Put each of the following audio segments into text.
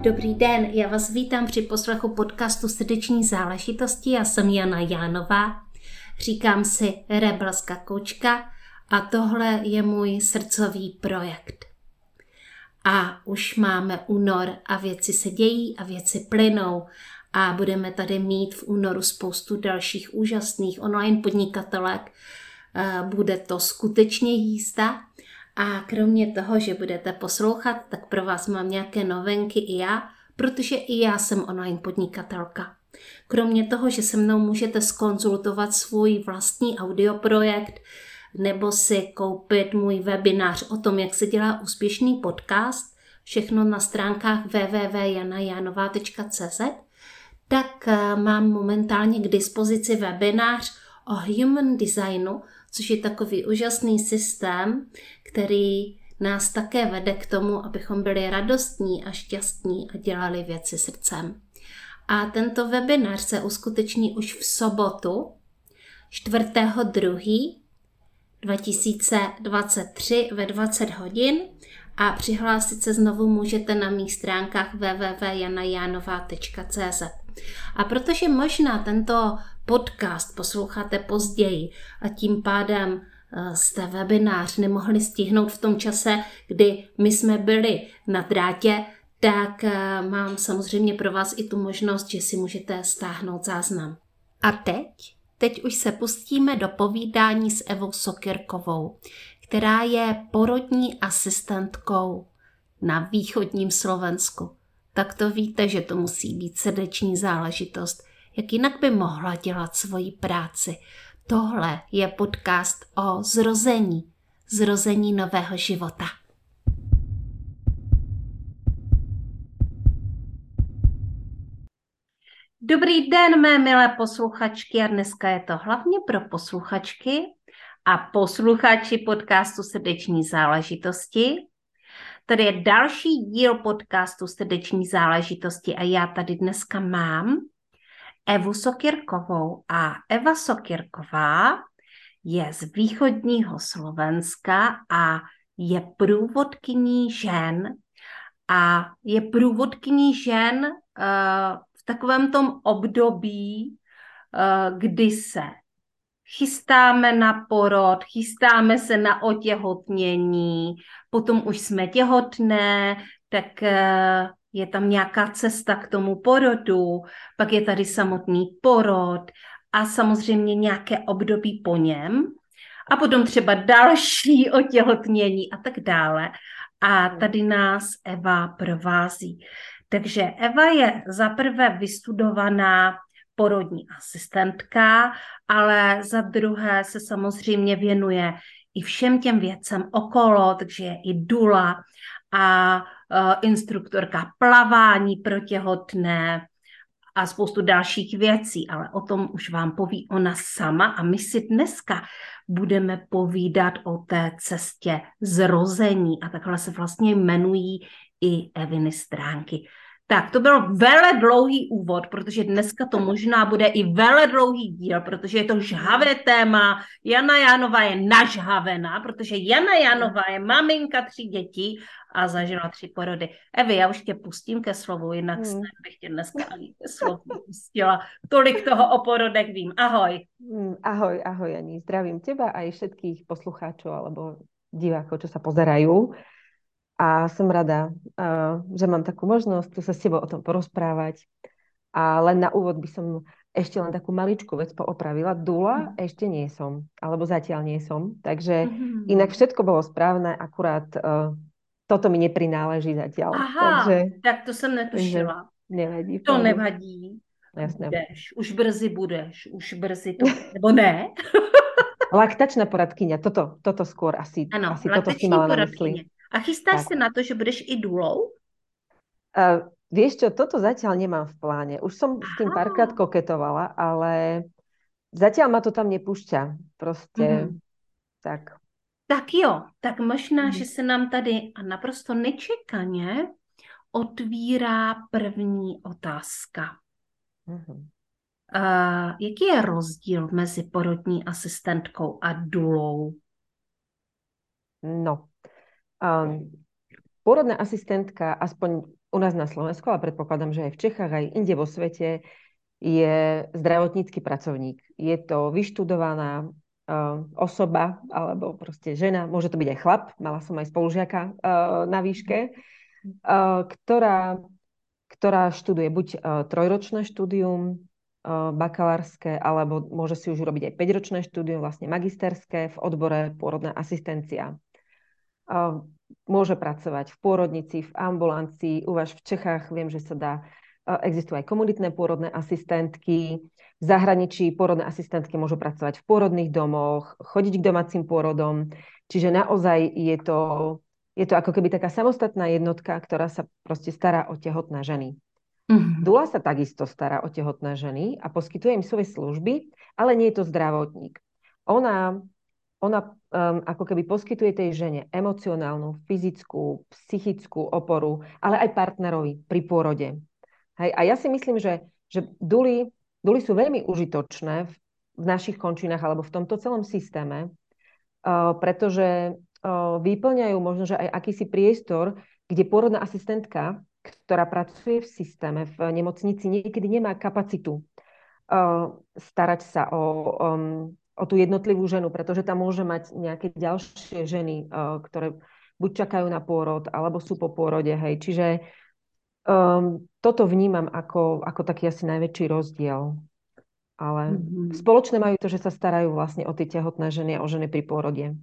Dobrý den, já vás vítám při poslechu podcastu Srdeční záležitosti. Já jsem Jana Jánová, říkám si rebelská koučka a tohle je můj srdcový projekt. A už máme únor a věci se dějí a věci plynou a budeme tady mít v únoru spoustu dalších úžasných online podnikatelek. Bude to skutečně jízda. A kromě toho, že budete poslouchat, tak pro vás mám nějaké novinky i já, protože i já jsem online podnikatelka. Kromě toho, že se mnou můžete zkonzultovat svůj vlastní audioprojekt nebo si koupit můj webinář o tom, jak se dělá úspěšný podcast, všechno na stránkách www.janajanova.cz, tak mám momentálně k dispozici webinář o human designu, což je takový úžasný systém, který nás také vede k tomu, abychom byli radostní a šťastní a dělali věci srdcem. A tento webinář se uskuteční už v sobotu 4.2.2023 ve 20 hodin a přihlásit se znovu můžete na mých stránkách www.janajanova.cz. A protože možná tento podcast posloucháte později a tím pádem jste webinář nemohli stihnout v tom čase, kdy my jsme byli na drátě, tak mám samozřejmě pro vás i tu možnost, že si můžete stáhnout záznam. A teď už se pustíme do povídání s Evou Sokyrkovou, která je porodní asistentkou na východním Slovensku. Tak to víte, že to musí být srdeční záležitost. Jak jinak by mohla dělat svoji práci? Tohle je podcast o zrození nového života. Dobrý den, mé milé posluchačky, a dneska je to hlavně pro posluchačky a posluchači podcastu Srdeční záležitosti. Tady je další díl podcastu Srdeční záležitosti a já tady dneska mám Evu Sokyrkovou. A Eva Sokyrková je z východního Slovenska a je průvodkyní žen. A je průvodkyní žen v takovém tom období, kdy se chystáme na porod, chystáme se na otěhotnění, potom už jsme těhotné, tak je tam nějaká cesta k tomu porodu, pak je tady samotný porod a samozřejmě nějaké období po něm a potom třeba další otěhotnění a tak dále. A tady nás Eva provází. Takže Eva je zaprvé vystudovaná porodní asistentka, ale za druhé se samozřejmě věnuje i všem těm věcem okolo, takže je i dula a instruktorka plavání pro těhotné a spoustu dalších věcí, ale o tom už vám poví ona sama a my si dneska budeme povídat o té cestě zrození a takhle se vlastně jmenují i Eviny stránky. Tak, to byl vele dlouhý úvod, protože dneska to možná bude i vele dlouhý díl, protože je to žhavé téma. Jana Jánová je nažhavená, protože Jana Jánová je maminka 3 dětí a zažila 3 porody. Evi, já už tě pustím ke slovu, jinak bych tě dneska ani ke slovu pustila. Tolik toho o porodech vím. Ahoj. Ahoj, Jani. Zdravím teba aj všetkých poslucháčov alebo divákov, čo sa pozerajú. A som rada, že mám takú možnosť tu sa s tebou o tom porozprávať. A len na úvod by som ešte len takú maličkú vec poopravila. Dula ešte nie som, alebo zatiaľ nie som. Takže inak všetko bolo správne, akurát toto mi neprináleží zatiaľ. Aha, takže, tak to jsem netušila. Nevadí. To nevadí. Jasné. Už brzy budeš, to, nebo ne? Laktačná poradkyňa, toto skôr asi, ano, asi toto si mala na mysli. A chystáš se na to, že budeš i důlou? Vieš čo, toto zatiaľ nemám v pláne. Už som s tým párkrát koketovala, ale zatiaľ ma to tam nepúšťa. Proste tak. Tak jo, tak možná, že se nám tady a naprosto nečekaně otvírá první otázka. Jaký je rozdíl mezi porodní asistentkou a důlou? No, porodná asistentka, aspoň u nás na Slovensku, ale predpokladám, že aj v Čechách, aj inde vo svete, je zdravotnícky pracovník. Je to vyštudovaná osoba, alebo proste žena, môže to byť aj chlap, mala som aj spolužiaka na výške, ktorá študuje buď trojročné štúdium, bakalárske, alebo môže si už urobiť aj 5-ročné štúdium, vlastne magisterské v odbore pôrodná asistencia. Môže pracovať v pôrodnici, v ambulancii. U vás v Čechách viem, že sa dá, existujú aj komunitné pôrodné asistentky. V zahraničí pôrodné asistentky môžu pracovať v pôrodných domoch, chodiť k domácim pôrodom. Čiže naozaj je to ako keby taká samostatná jednotka, ktorá sa proste stará o tehotné ženy. Dula sa takisto stará o tehotné ženy a poskytuje im svoje služby, ale nie je to zdravotník. Ona ako keby poskytuje tej žene emocionálnu, fyzickú, psychickú oporu, ale aj partnerovi pri pôrode. Hej. A ja si myslím, že duly sú veľmi užitočné v našich končinách alebo v tomto celom systéme, pretože vyplňajú možno, že aj akýsi priestor, kde pôrodná asistentka, ktorá pracuje v systéme, v nemocnici, niekedy nemá kapacitu starať sa o tú jednotlivú ženu, pretože tam môže mať nejaké ďalšie ženy, ktoré buď čakajú na pôrod, alebo sú po pôrode. Hej. Čiže toto vnímam ako taký asi najväčší rozdiel. Ale spoločné majú to, že sa starajú vlastne o tie tehotné ženy a o ženy pri pôrode.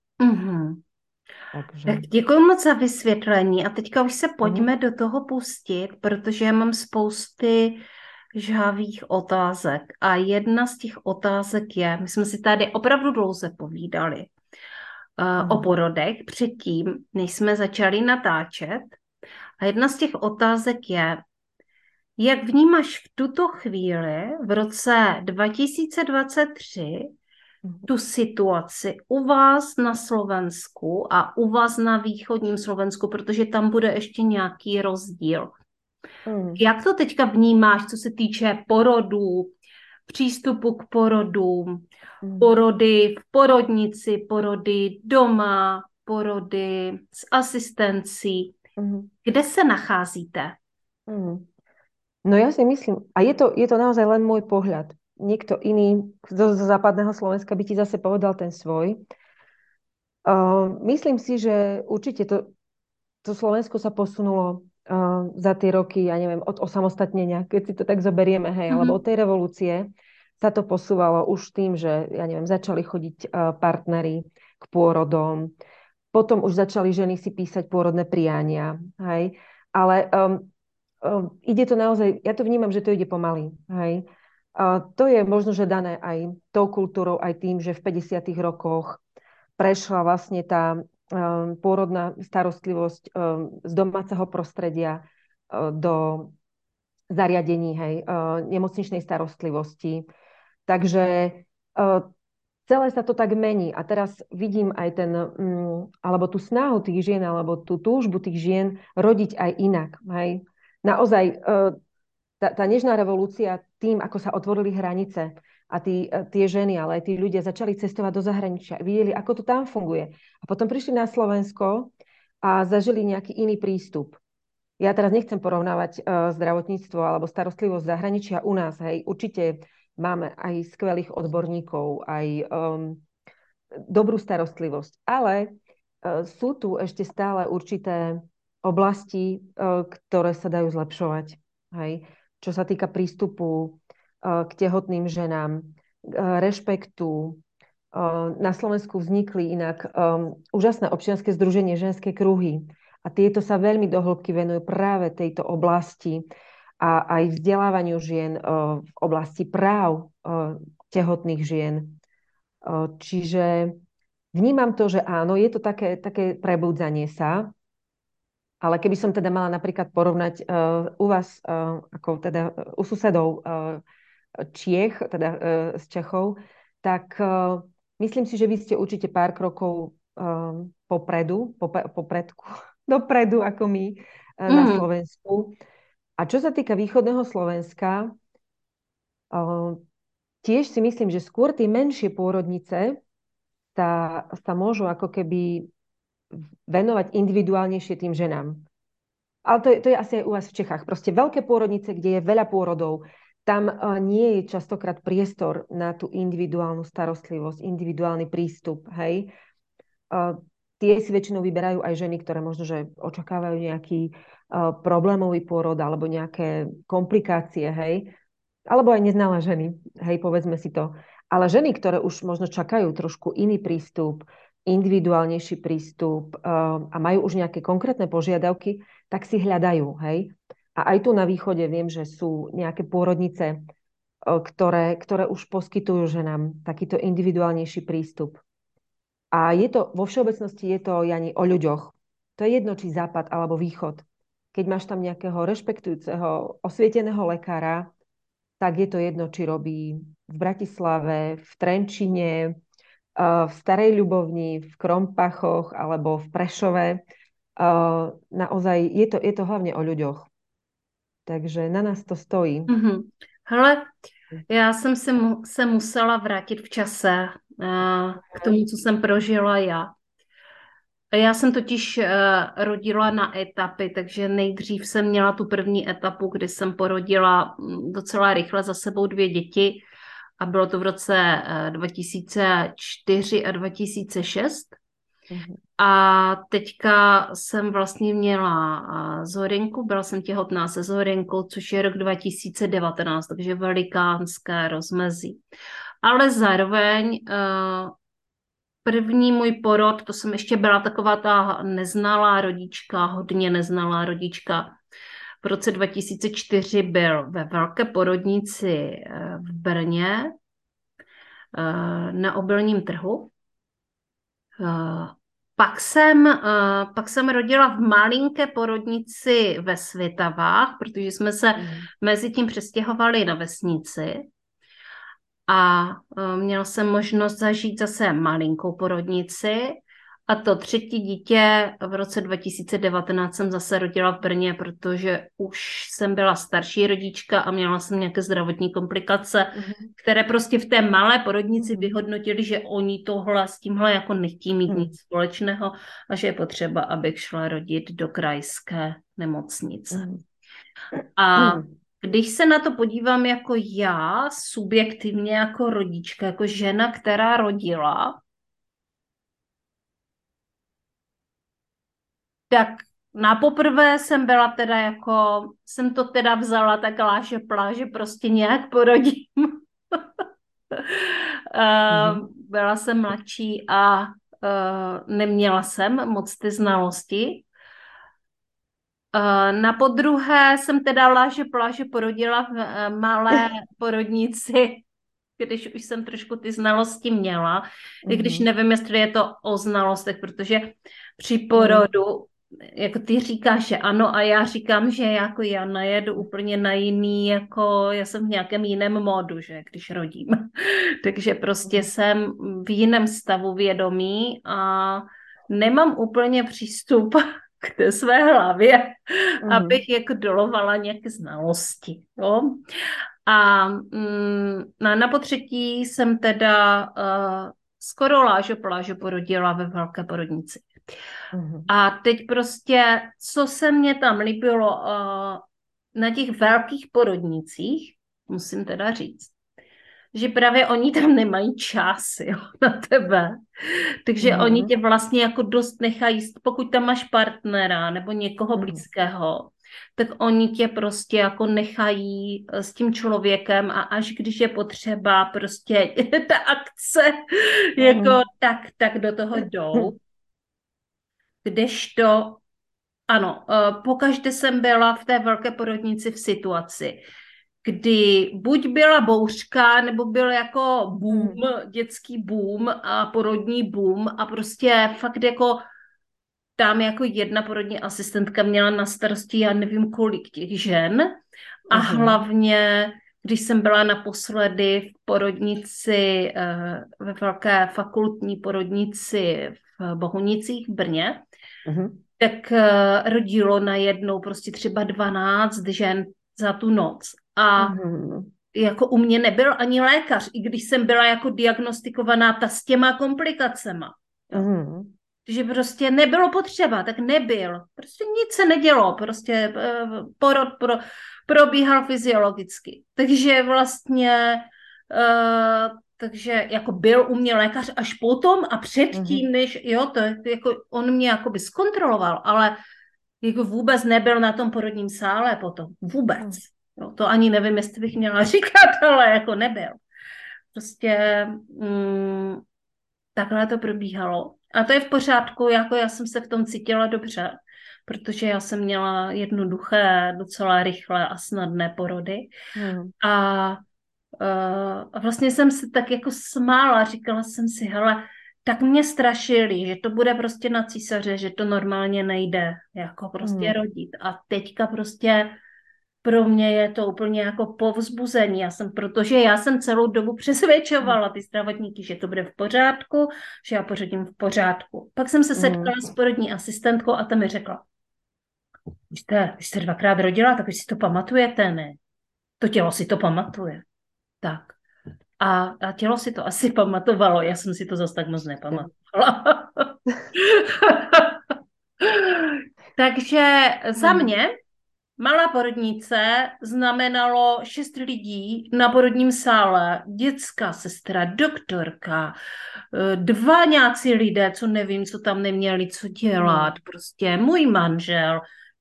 Takže. Tak děkuji moc za vysvětlení a teďka už se pojďme do toho pustit, protože já mám spousty žhavých otázek a jedna z těch otázek je, my jsme si tady opravdu dlouze povídali o porodech předtím, než jsme začali natáčet a jedna z těch otázek je, jak vnímáš v tuto chvíli v roce 2023 tu situaci u vás na Slovensku a u vás na východním Slovensku, protože tam bude ještě nějaký rozdíl. Jak to teďka vnímáš, co se týče porodů, přístupu k porodům, porody v porodnici, porody doma, porody s asistencí? Kde se nacházíte? No ja si myslím, a je to naozaj len môj pohľad. Niekto iný zo západného Slovenska by ti zase povedal ten svoj. Myslím si, že určite to Slovensko sa posunulo za tie roky, ja neviem, od osamostatnenia, keď si to tak zoberieme, hej, alebo od tej revolúcie sa to posúvalo už tým, že, ja neviem, začali chodiť partneri k pôrodom, potom už začali ženy si písať pôrodné priania, hej, ale ide to naozaj, ja to vnímam, že to ide pomaly, hej. To je možno, že dané aj tou kultúrou, aj tým, že v 50. rokoch prešla vlastne tá pôrodná starostlivosť z domáceho prostredia do zariadení, hej, nemocničnej starostlivosti. Takže celé sa to tak mení. A teraz vidím aj alebo tú snahu tých žien, alebo tú túžbu tých žien rodiť aj inak, hej. Naozaj tá nežná revolúcia tým, ako sa otvorili hranice a tie ženy, ale aj tí ľudia začali cestovať do zahraničia, videli, ako to tam funguje. A potom prišli na Slovensko a zažili nejaký iný prístup. Ja teraz nechcem porovnávať zdravotníctvo alebo starostlivosť zahraničia u nás. Hej. Určite máme aj skvelých odborníkov, aj dobrú starostlivosť. Ale sú tu ešte stále určité oblasti, ktoré sa dajú zlepšovať. Hej. Čo sa týka prístupu k tehotným ženám, rešpektu. Na Slovensku vznikli inak úžasné občianske združenie Ženské kruhy a tieto sa veľmi do hĺbky venujú práve tejto oblasti a aj vzdelávaniu žien v oblasti práv tehotných žien. Čiže vnímam to, že áno, je to také prebudzanie sa. Ale keby som teda mala napríklad porovnať u vás, ako teda u susedov Čiech, teda z Čechov, tak myslím si, že vy ste určite pár krokov dopredu ako my na Slovensku. A čo sa týka východného Slovenska, tiež si myslím, že skôr tie menšie pôrodnice sa môžu ako keby venovať individuálnejšie tým ženám. Ale to je asi aj u vás v Čechách. Proste veľké pôrodnice, kde je veľa pôrodov, tam nie je častokrát priestor na tú individuálnu starostlivosť, individuálny prístup, hej. Tie si väčšinou vyberajú aj ženy, ktoré možno, že očakávajú nejaký problémový pôrod alebo nejaké komplikácie, hej. Alebo aj neznalé ženy, hej, povedzme si to. Ale ženy, ktoré už možno čakajú trošku iný prístup, individuálnejší prístup a majú už nejaké konkrétne požiadavky, tak si hľadajú, hej. A aj tu na východe viem, že sú nejaké pôrodnice, ktoré už poskytujú ženám takýto individuálnejší prístup. A je to, vo všeobecnosti je to, Jani, o ľuďoch. To je jedno, či západ alebo východ. Keď máš tam nejakého rešpektujúceho, osvieteného lekára, tak je to jedno, či robí v Bratislave, v Trenčine, v Starej Ľubovni, v Krompachoch alebo v Prešove. Naozaj je to hlavne o ľuďoch. Takže na nás to stojí. Mm-hmm. Hele, já jsem se musela vrátit v čase k tomu, co jsem prožila já. Já jsem totiž rodila na etapy, takže nejdřív jsem měla tu první etapu, kdy jsem porodila docela rychle za sebou 2 děti a bylo to v roce 2004 a 2006. Mhm. A teďka jsem vlastně měla Zorinku, byla jsem těhotná se Zorinkou, což je rok 2019, takže velikánské rozmezí. Ale zároveň první můj porod, to jsem ještě byla taková ta neznalá rodička, hodně neznalá rodička. V roce 2004 byl ve velké porodnici v Brně na Obilním trhu. Pak jsem rodila v malinké porodnici ve Svitavách, protože jsme se mezi tím přestěhovali na vesnici. A měla jsem možnost zažít zase malinkou porodnici a to 3. dítě v roce 2019 jsem zase rodila v Brně, protože už jsem byla starší rodička a měla jsem nějaké zdravotní komplikace, které prostě v té malé porodnici vyhodnotili, že oni tohle s tímhle jako nechtějí mít nic společného a že je potřeba, abych šla rodit do krajské nemocnice. A když se na to podívám jako já, subjektivně jako rodička, jako žena, která rodila, tak na poprvé jsem byla teda jako, jsem to teda vzala tak láže pláže, prostě nějak porodím. Byla jsem mladší a neměla jsem moc ty znalosti. Na podruhé jsem teda láže pláže porodila v malé porodnici, když už jsem trošku ty znalosti měla, i když nevím, jestli je to o znalostech, protože při porodu, jako ty říkáš, že ano a já říkám, že jako já najedu úplně na jiný, jako já jsem v nějakém jiném módu, že když rodím. Takže prostě jsem v jiném stavu vědomí a nemám úplně přístup k té své hlavě, abych jako dolovala nějaké znalosti. Jo? A na potřetí jsem teda skoro lážo plážo porodila ve velké porodnici. A teď prostě, co se mně tam líbilo na těch velkých porodnicích, musím teda říct, že právě oni tam nemají čas, jo, na tebe. Takže oni tě vlastně jako dost nechají, pokud tam máš partnera nebo někoho blízkého, tak oni tě prostě jako nechají s tím člověkem a až když je potřeba prostě ta akce, jako tak do toho jdou. Kdežto, ano, pokaždé jsem byla v té velké porodnici v situaci, kdy buď byla bouřka, nebo byl jako boom, dětský boom a porodní boom a prostě fakt jako tam jako jedna porodní asistentka měla na starosti, já nevím kolik těch žen a hlavně, když jsem byla naposledy v porodnici, ve velké fakultní porodnici v Bohunicích v Brně, tak rodilo najednou prostě třeba 12 žen za tu noc. A jako u mě nebyl ani lékař, i když jsem byla jako diagnostikovaná ta s těma komplikacema. že prostě nebylo potřeba, tak nebyl. Prostě nic se nedělo, prostě porod probíhal fyziologicky. Takže vlastně, takže jako byl u mě lékař až potom a předtím, než, jo, to jako on mě jakoby zkontroloval, ale jako vůbec nebyl na tom porodním sále potom. Vůbec. Jo, to ani nevím, jestli bych měla říkat, ale jako nebyl. Prostě takhle to probíhalo. A to je v pořádku, jako já jsem se v tom cítila dobře, protože já jsem měla jednoduché, docela rychlé a snadné porody. A vlastně jsem se tak jako smála, říkala jsem si, hele, tak mě strašili, že to bude prostě na císaře, že to normálně nejde, jako prostě rodit. A teďka prostě pro mě je to úplně jako povzbuzení. Protože já jsem celou dobu přesvědčovala ty zdravotníky, že to bude v pořádku, že já porodím v pořádku. Pak jsem se setkala s porodní asistentkou a ta mi řekla, když jste dvakrát rodila, tak už si to pamatujete, ne? To tělo si to pamatuje. Tak. A tělo si to asi pamatovalo, já jsem si to zase tak moc nepamatovala. Takže za mě malá porodnice znamenalo 6 lidí na porodním sále, dětská sestra, doktorka, 2 nějací lidé, co nevím, co tam neměli co dělat, prostě můj manžel.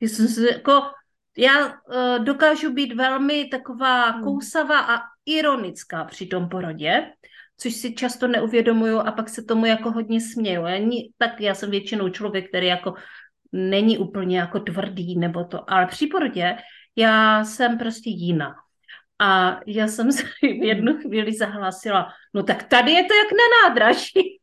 Já dokážu být velmi taková kousavá a ironická při tom porodě, což si často neuvědomuju a pak se tomu jako hodně směju. Já jsem většinou člověk, který jako není úplně jako tvrdý nebo to, ale při porodě já jsem prostě jiná. A já jsem se v jednu chvíli zahlásila, no tak tady je to jak na nádraží.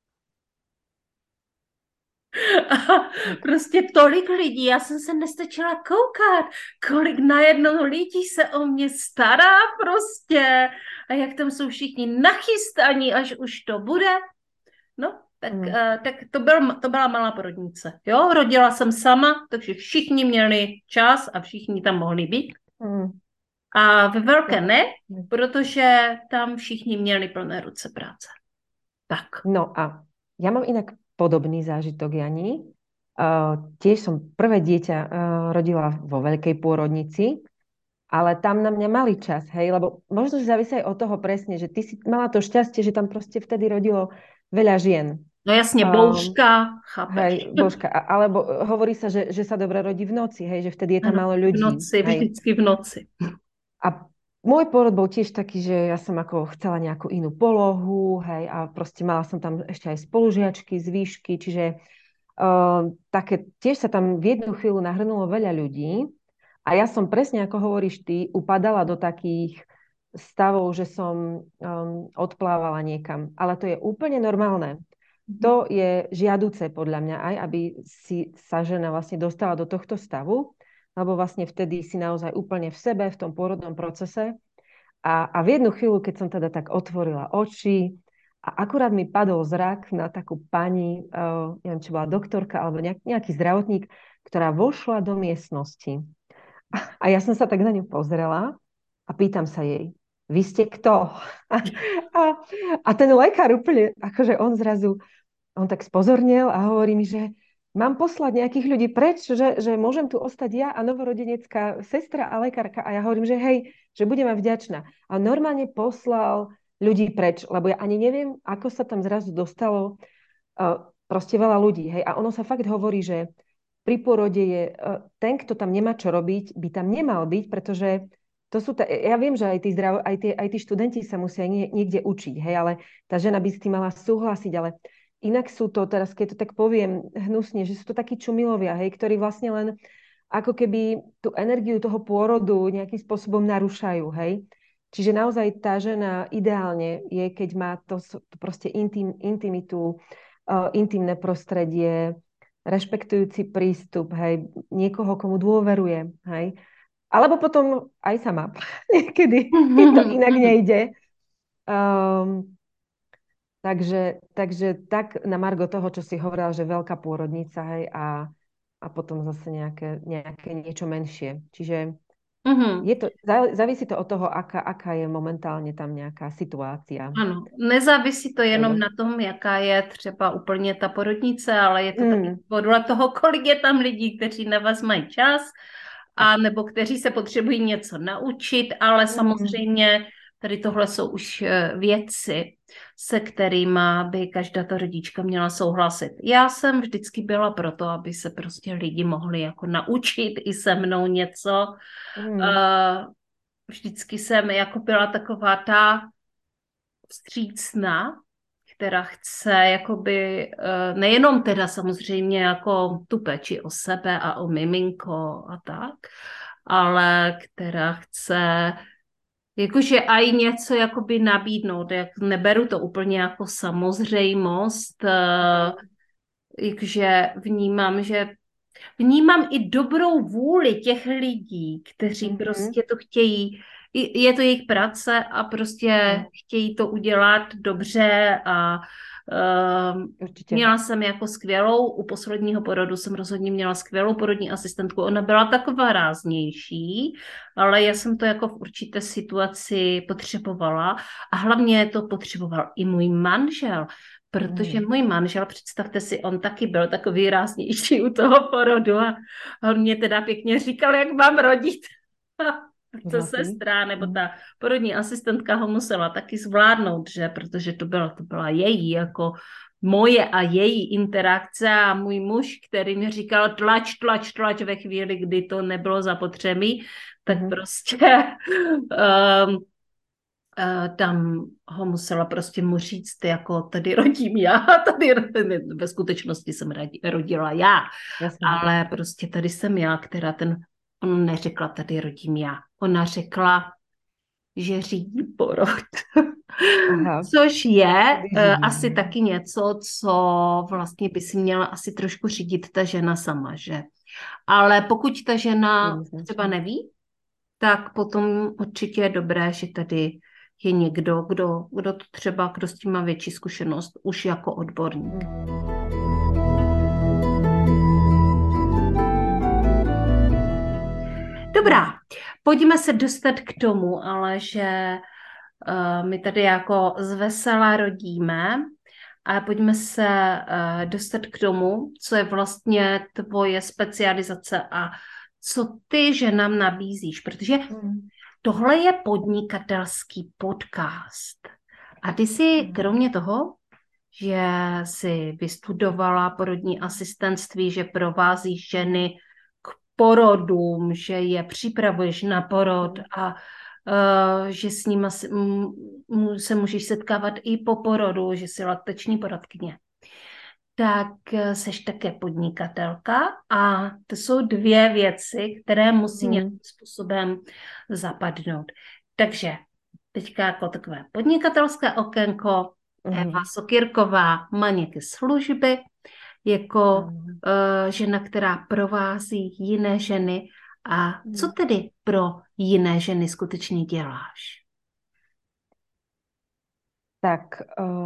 A prostě tolik lidí, já jsem se nestačila koukat, kolik najednou lidí se o mě stará prostě a jak tam jsou všichni nachystaní, až už to bude. No, tak to byla malá porodnice. Jo, rodila jsem sama, takže všichni měli čas a všichni tam mohli být. A ve velké ne, protože tam všichni měli plné ruce práce. Tak. No a ja mám inak podobný zážitok, Jani. Tiež som prvé dieťa rodila vo veľkej pôrodnici, ale tam na mňa mali čas, hej, lebo možno, že závisí aj od toho presne, že ty si mala to šťastie, že tam proste vtedy rodilo veľa žien. No jasne, bouška, chápeš. Hej, bouška, alebo hovorí sa, že sa dobre rodí v noci, hej, že vtedy je tam málo ľudí. V noci, vždycky v noci. A môj pôrod bol tiež taký, že ja som ako chcela nejakú inú polohu, hej, a proste mala som tam ešte aj spolužiačky z výšky, čiže také, tiež sa tam v jednu chvíľu nahrnulo veľa ľudí a ja som presne, ako hovoríš ty, upadala do takých stavov, že som odplávala niekam. Ale to je úplne normálne. To je žiaduce podľa mňa aj, aby si sa žena vlastne dostala do tohto stavu, lebo vlastne vtedy si naozaj úplne v sebe, v tom pôrodnom procese. A v jednu chvíľu, keď som teda tak otvorila oči a akurát mi padol zrak na takú pani, neviem, či bola doktorka alebo nejaký zdravotník, ktorá vošla do miestnosti. A ja som sa tak na ňu pozrela a pýtam sa jej, vy ste kto? A ten lekár úplne, akože on tak spozornil a hovorí mi, že mám poslať nejakých ľudí preč, že môžem tu ostať ja a novorodenecká sestra a lekárka. A ja hovorím, že hej, že budem aj vďačná. A normálne poslal ľudí preč, lebo ja ani neviem, ako sa tam zrazu dostalo proste veľa ľudí. Hej. A ono sa fakt hovorí, že pri porode je ten, kto tam nemá čo robiť, by tam nemal byť, pretože to sú ja viem, že aj tí študenti sa musia niekde učiť, hej, ale tá žena by s tým mala súhlasiť, ale inak sú to, teraz keď to tak poviem hnusne, že sú to takí čumilovia, hej, ktorí vlastne len ako keby tú energiu toho pôrodu nejakým spôsobom narúšajú, hej. Čiže naozaj tá žena ideálne je, keď má to proste intimitu, intimné prostredie, rešpektujúci prístup, hej, niekoho, komu dôveruje, hej. Alebo potom aj sama. Niekedy to inak nejde. Takže tak na margo toho, čo si hovorila, že veľká pôrodnica, hej, a potom zase nejaké niečo menšie. Čiže Mhm. Závisí to od toho, aká je momentálně tam nějaká situácia. Ano, nezávisí to jenom Ano. na tom, jaká je třeba úplně ta porodnice, ale je to taky Mm, podle toho, kolik je tam lidí, kteří na vás mají čas, a tak. nebo kteří se potřebují něco naučit, ale Mm, samozřejmě tady tohle jsou už věci, se kterými by každá ta rodička měla souhlasit. Já jsem vždycky byla proto, aby se prostě lidi mohli jako naučit i se mnou něco. mm, Eh, Vždycky jsem jako byla taková ta vstřícná, která chce jakoby nejenom teda samozřejmě jako tu péči o sebe a o miminko a tak, ale která chce jakože aj něco jakoby nabídnout, jak neberu to úplně jako samozřejmost, jakože vnímám i dobrou vůli těch lidí, kteří mhm, prostě to chtějí. Je to jejich práce a prostě ano, chtějí to udělat dobře a určitě. měla jsem jako u posledního porodu jsem rozhodně měla skvělou porodní asistentku. Ona byla taková ráznější, ale já jsem to jako v určité situaci potřebovala a hlavně to potřeboval i můj manžel, protože Mm, můj manžel, představte si, on taky byl takový ráznější u toho porodu a on mě teda pěkně říkal, jak mám rodit. Ta Úžasný. sestra nebo Mm, ta porodní asistentka ho musela taky zvládnout, že? Protože to byla její jako moje a její interakce a můj muž, který mi říkal tlač ve chvíli, kdy to nebylo zapotřebí, tak mhm, prostě um, tam ho musela prostě mu říct, jako tady rodím já, tady ve skutečnosti jsem rodila já, jasné. ale prostě tady jsem já, ona neřekla tady rodím já, ona řekla, že řídí porod. Aha, Což je kdy řídí. asi taky něco, co vlastně by si měla asi trošku řídit ta žena sama, že? Ale pokud ta žena třeba Jednoznačně. neví, tak potom určitě je dobré, že tady je někdo, kdo s tím má větší zkušenost, už jako odborník. Mm, Dobrá, pojďme se dostat k tomu, ale že my tady jako zvesela rodíme a pojďme se dostat k tomu, co je vlastně tvoje specializace a co ty ženám nabízíš, protože mm, tohle je podnikatelský podcast. A ty si mm, kromě toho, že si vystudovala porodní asistentství, že provázíš ženy k porodům, že je připravuješ na porod mm. a že s nimi se můžeš setkávat i po porodu, že jsi laktační poradkyně, tak seš také podnikatelka a to jsou dvě věci, které musí nějakým Mhm, způsobem zapadnout. Takže teďka jako takové podnikatelské okénko, Eva mhm. Sokyrková má nějaké služby, jako Áno. žena, která provází jiné ženy. A co Mm. tedy pro jiné ženy skutečně děláš? Tak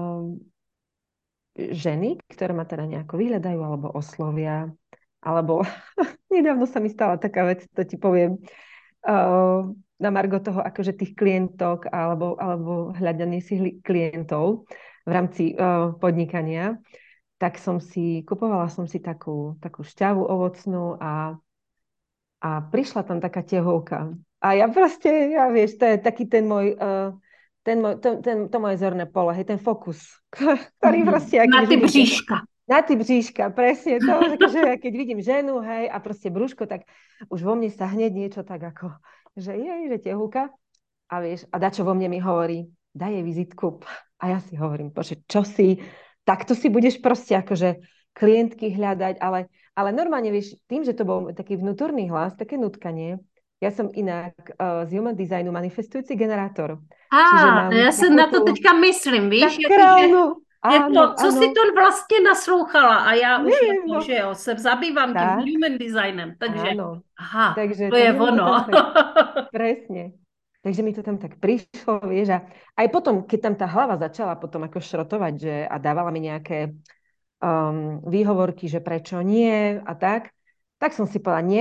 ženy, ktoré ma teda nejako vyhľadajú alebo oslovia, alebo nedávno sa mi stala taká vec, to ti poviem, na margo toho akože tých klientok alebo hľadanie si klientov v rámci podnikania, tak kupovala som si takú šťavu ovocnú a prišla tam taká tehovka. A ja proste, ja vieš, to je taký ten môj, to moje zorné pole, hej, ten fokus, ktorý proste, ja keď Na už ty vidím bříška. na ty bříška, presne to, že keď vidím ženu, hej, a proste brúško, tak už vo mne sa hneď niečo tak ako, že tehúka. A vieš, a dačo vo mne mi hovorí, daj jej vizitku. A ja si hovorím, bože, čo si, takto si budeš proste akože klientky hľadať, ale normálne, vieš, tým, že to bol taký vnútorný hlas, také nutkanie, ja som inak z Human Designu manifestujúci generátor. Čiže mám Já se takú na to tú teďka myslím, víš, sakrálnu, áno, co si áno, to vlastně naslouchala a já už neviem, jako, no, že jo, se zabývám tím tak, human designem, takže áno. aha, Takže, to je takže mi to tam ono. tak, presne. Takže mi to tam tak prišlo, vieš, a aj potom, keď tam tá hlava začala potom ako šrotovať, že a dávala mi nejaké výhovorky, že prečo nie a tak som si povedala, nie,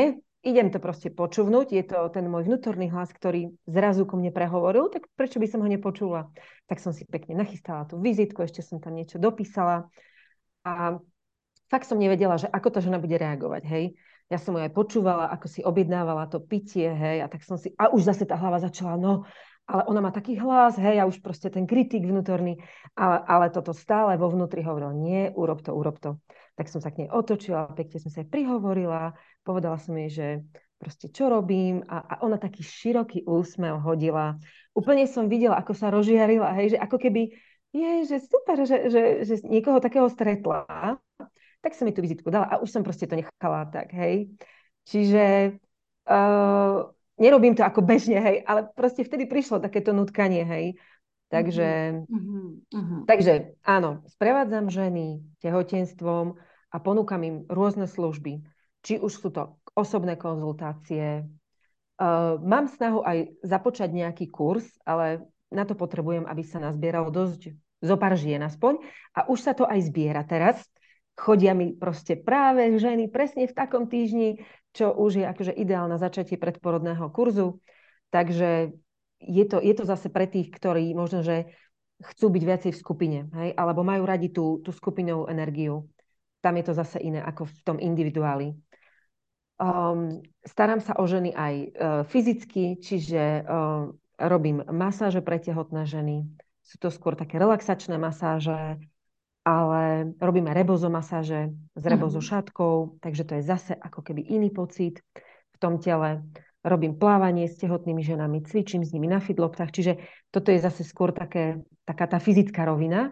idem to proste počúvnuť, je to ten môj vnútorný hlas, ktorý zrazu ku mne prehovoril, tak prečo by som ho nepočula? Tak som si pekne nachystala tú vizitku, ešte som tam niečo dopísala a fakt som nevedela, že ako tá žena bude reagovať, hej. Ja som ju aj počúvala, ako si objednávala to pitie, hej, a tak som si, a už zase tá hlava začala, no, ale ona má taký hlas, hej, a už proste ten kritik vnútorný, ale toto stále vo vnútri hovoril, nie, urob to, urob to. Tak som sa k nej otočila, pekne som sa aj prihovorila, povedala som jej, že proste čo robím a ona taký široký úsmev hodila. Úplne som videla, ako sa rozžiarila, hej, že ako keby, že super, že niekoho takého stretla, tak som mi tú vizitku dala a už som proste to nechala tak, hej. Čiže nerobím to ako bežne, hej, ale proste vtedy prišlo takéto nutkanie, hej. Takže, takže áno, sprevádzam ženy tehotenstvom a ponúkam im rôzne služby. Či už sú to osobné konzultácie. Mám snahu aj započať nejaký kurz, ale na to potrebujem, aby sa nazbieralo dosť zopár žien aspoň. A už sa to aj zbiera teraz. Chodia mi proste práve ženy presne v takom týždni, čo už je akože ideálne začatie predporodného kurzu. Takže je to zase pre tých, ktorí možno, že chcú byť viacej v skupine, hej? Alebo majú radi tú skupinovú energiu. Tam je to zase iné ako v tom individuáli. Starám sa o ženy aj fyzicky, čiže robím masáže pre tehotné ženy. Sú to skôr také relaxačné masáže, ale robíme rebozomasáže s rebozošatkou, takže to je zase ako keby iný pocit v tom tele. Robím plávanie s tehotnými ženami, cvičím s nimi na fidloptách, čiže toto je zase skôr taká tá fyzická rovina.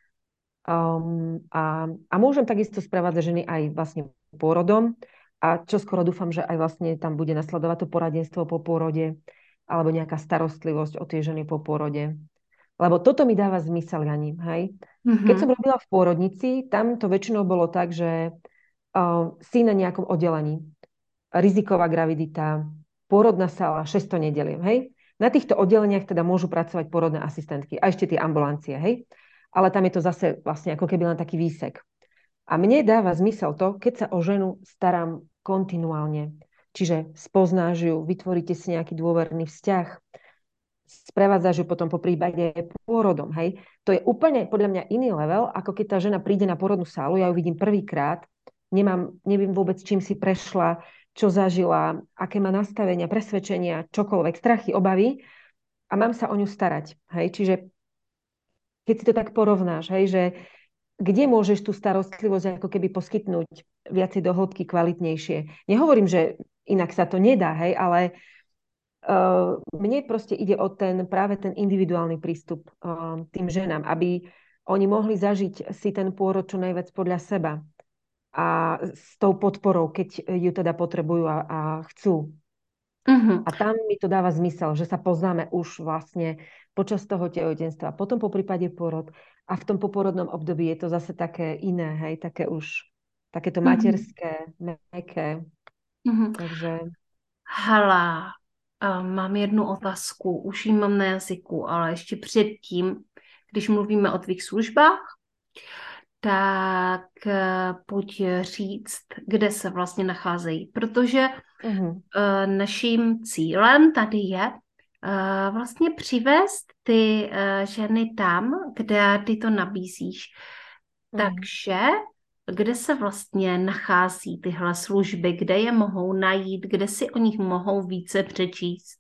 A môžem takisto sprevádzať ženy aj vlastne pôrodom a čo skoro dúfam, že aj vlastne tam bude nasledovať to poradenstvo po pôrode alebo nejaká starostlivosť o tie ženy po pôrode. Lebo toto mi dáva zmysel, Jani, hej? Keď som robila v pôrodnici, tam to väčšinou bolo tak, že si na nejakom oddelení. Riziková gravidita, pôrodná sala, 600 nedeliem, hej? Na týchto oddeleniach teda môžu pracovať pôrodné asistentky a ešte tie ambulancie, hej? Ale tam je to zase vlastne ako keby len taký výsek. A mne dáva zmysel to, keď sa o ženu starám kontinuálne. Čiže spoznáš ju, vytvoríte si nejaký dôverný vzťah, sprevádzaš ju potom po prípade pôrodom, hej. To je úplne podľa mňa iný level, ako keď tá žena príde na pôrodnú sálu, ja ju vidím prvýkrát, neviem vôbec, čím si prešla, čo zažila, aké má nastavenia, presvedčenia, čokoľvek, strachy, obavy a mám sa o ňu starať, hej. Čiže keď si to tak porovnáš, hej, že kde môžeš tú starostlivosť ako keby poskytnúť viacej do hĺbky, kvalitnejšie. Nehovorím, že inak sa to nedá, hej, ale mne proste ide o práve ten individuálny prístup tým ženám, aby oni mohli zažiť si ten pôrod čo najviac podľa seba a s tou podporou, keď ju teda potrebujú a chcú. A tam mi to dáva zmysel, že sa poznáme už vlastne počas toho tehotenstva, potom po prípade pôrod a v tom poporodnom období je to zase také iné, hej, takéto materské, mäkké. Takže... Hala, mám jednu otázku, už ji mám na jazyku, ale ještě předtím, když mluvíme o tvých službách, tak pojď říct, kde se vlastně nacházejí, protože naším cílem tady je vlastně přivést ty ženy tam, kde ty to nabízíš. Takže kde se vlastně nachází tyhle služby, kde je mohou najít, kde si o nich mohou více přečíst?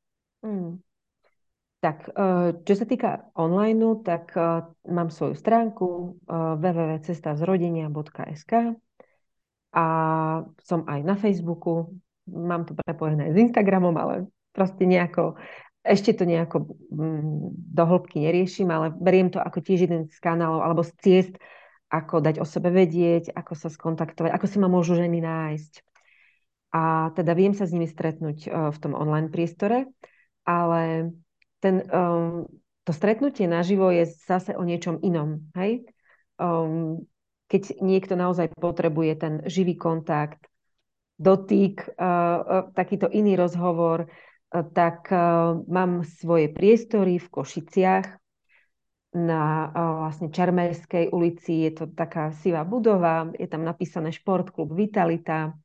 Tak, čo sa týka online, tak mám svoju stránku www.cestavzrodenia.sk a som aj na Facebooku. Mám to prepojené s Instagramom, ale proste ešte to nejako do hĺbky neriešim, ale beriem to ako tiež jeden z kanálov alebo z ciest, ako dať o sebe vedieť, ako sa skontaktovať, ako si ma môžu ženy nájsť. A teda viem sa s nimi stretnúť v tom online priestore, ale to stretnutie naživo je zase o niečom inom. Hej? Keď niekto naozaj potrebuje ten živý kontakt, dotyk, takýto iný rozhovor, tak mám svoje priestory v Košiciach na vlastne Čarmerskej ulici. Je to taká sivá budova, je tam napísané Športklub Vitalita.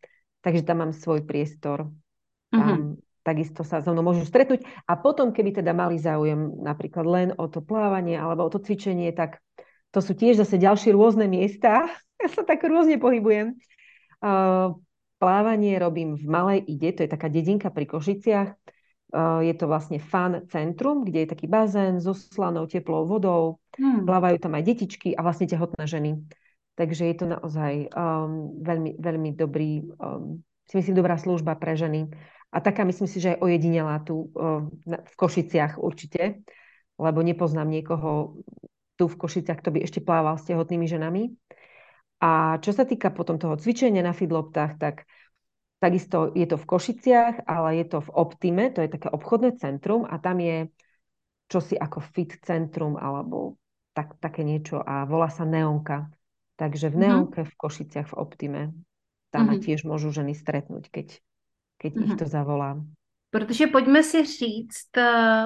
takže tam mám svoj priestor. Mhm. Tam takisto sa so mnou môžu stretnúť. A potom, keby teda mali záujem napríklad len o to plávanie alebo o to cvičenie, tak to sú tiež zase ďalšie rôzne miesta. Ja sa tak rôzne pohybujem. Plávanie robím v Malej Ide, to je taká dedinka pri Košiciach. Je to vlastne fun centrum, kde je taký bazén so slanou, teplou vodou. Plávajú tam aj detičky a vlastne tehotné ženy. Takže je to naozaj veľmi, veľmi dobrý, si myslím, dobrá služba pre ženy. A taká myslím si, že je ojedinelá tu v Košiciach určite, lebo nepoznám niekoho tu v Košiciach, kto by ešte plával s tehotnými ženami. A čo sa týka potom toho cvičenia na feedloptách, tak takisto je to v Košiciach, ale je to v Optime, to je také obchodné centrum a tam je čosi ako fit centrum alebo také niečo a volá sa Neonka. Takže v Neonke v Košiciach v Optime tam ma tiež môžu ženy stretnúť, keď ich to zavolá. Protože pojďme si říct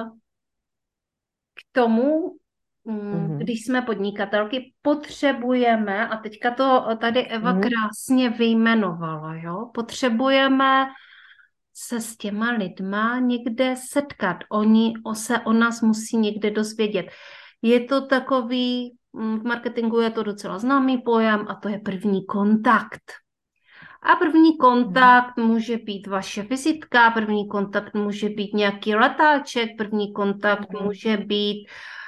k tomu, když jsme podnikatelky, potřebujeme, a teďka to tady Eva krásně vyjmenovala, jo? Potřebujeme se s těma lidma někde setkat. Oni se o nás musí někde dozvědět. Je to takový, v marketingu je to docela známý pojem a to je první kontakt. A první kontakt může být vaše vizitka, první kontakt může být nějaký letáček, první kontakt může být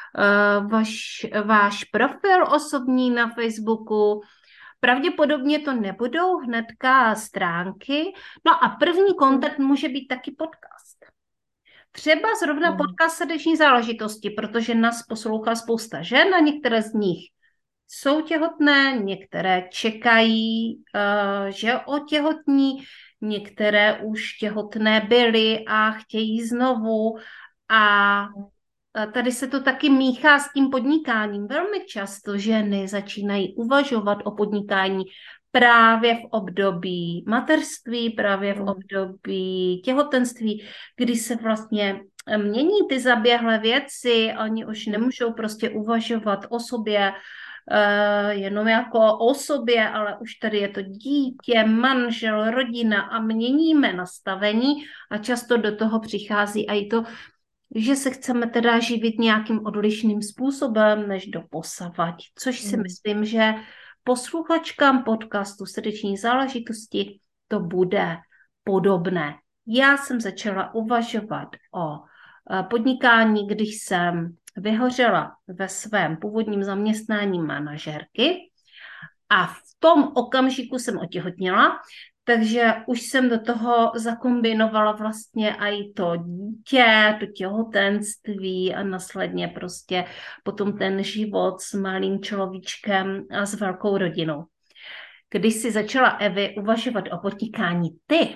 váš profil osobní na Facebooku. Pravděpodobně to nebudou hnedka stránky. No a první kontakt může být taky podcast. Třeba zrovna podcast srdeční záležitosti, protože nás poslouchá spousta žen a některé z nich jsou těhotné, některé čekají, že otěhotní, některé už těhotné byly a chtějí znovu. A tady se to taky míchá s tím podnikáním. Velmi často ženy začínají uvažovat o podnikání právě v období mateřství, právě v období těhotenství, kdy se vlastně mění ty zaběhlé věci, oni už nemůžou prostě uvažovat o sobě jenom jako o sobě, ale už tady je to dítě, manžel, rodina a měníme nastavení a často do toho přichází i to, že se chceme teda živit nějakým odlišným způsobem než doposavad, což si myslím, že posluchačkám podcastu Srdeční záležitosti to bude podobné. Já jsem začala uvažovat o podnikání, když jsem vyhořela ve svém původním zaměstnání manažerky a v tom okamžiku jsem otěhotněla, takže už jsem do toho zakombinovala vlastně i to dítě, to těhotenství a následně prostě potom ten život s malým človíčkem a s velkou rodinou. Když si začala, Evi, uvažovat o podnikání ty?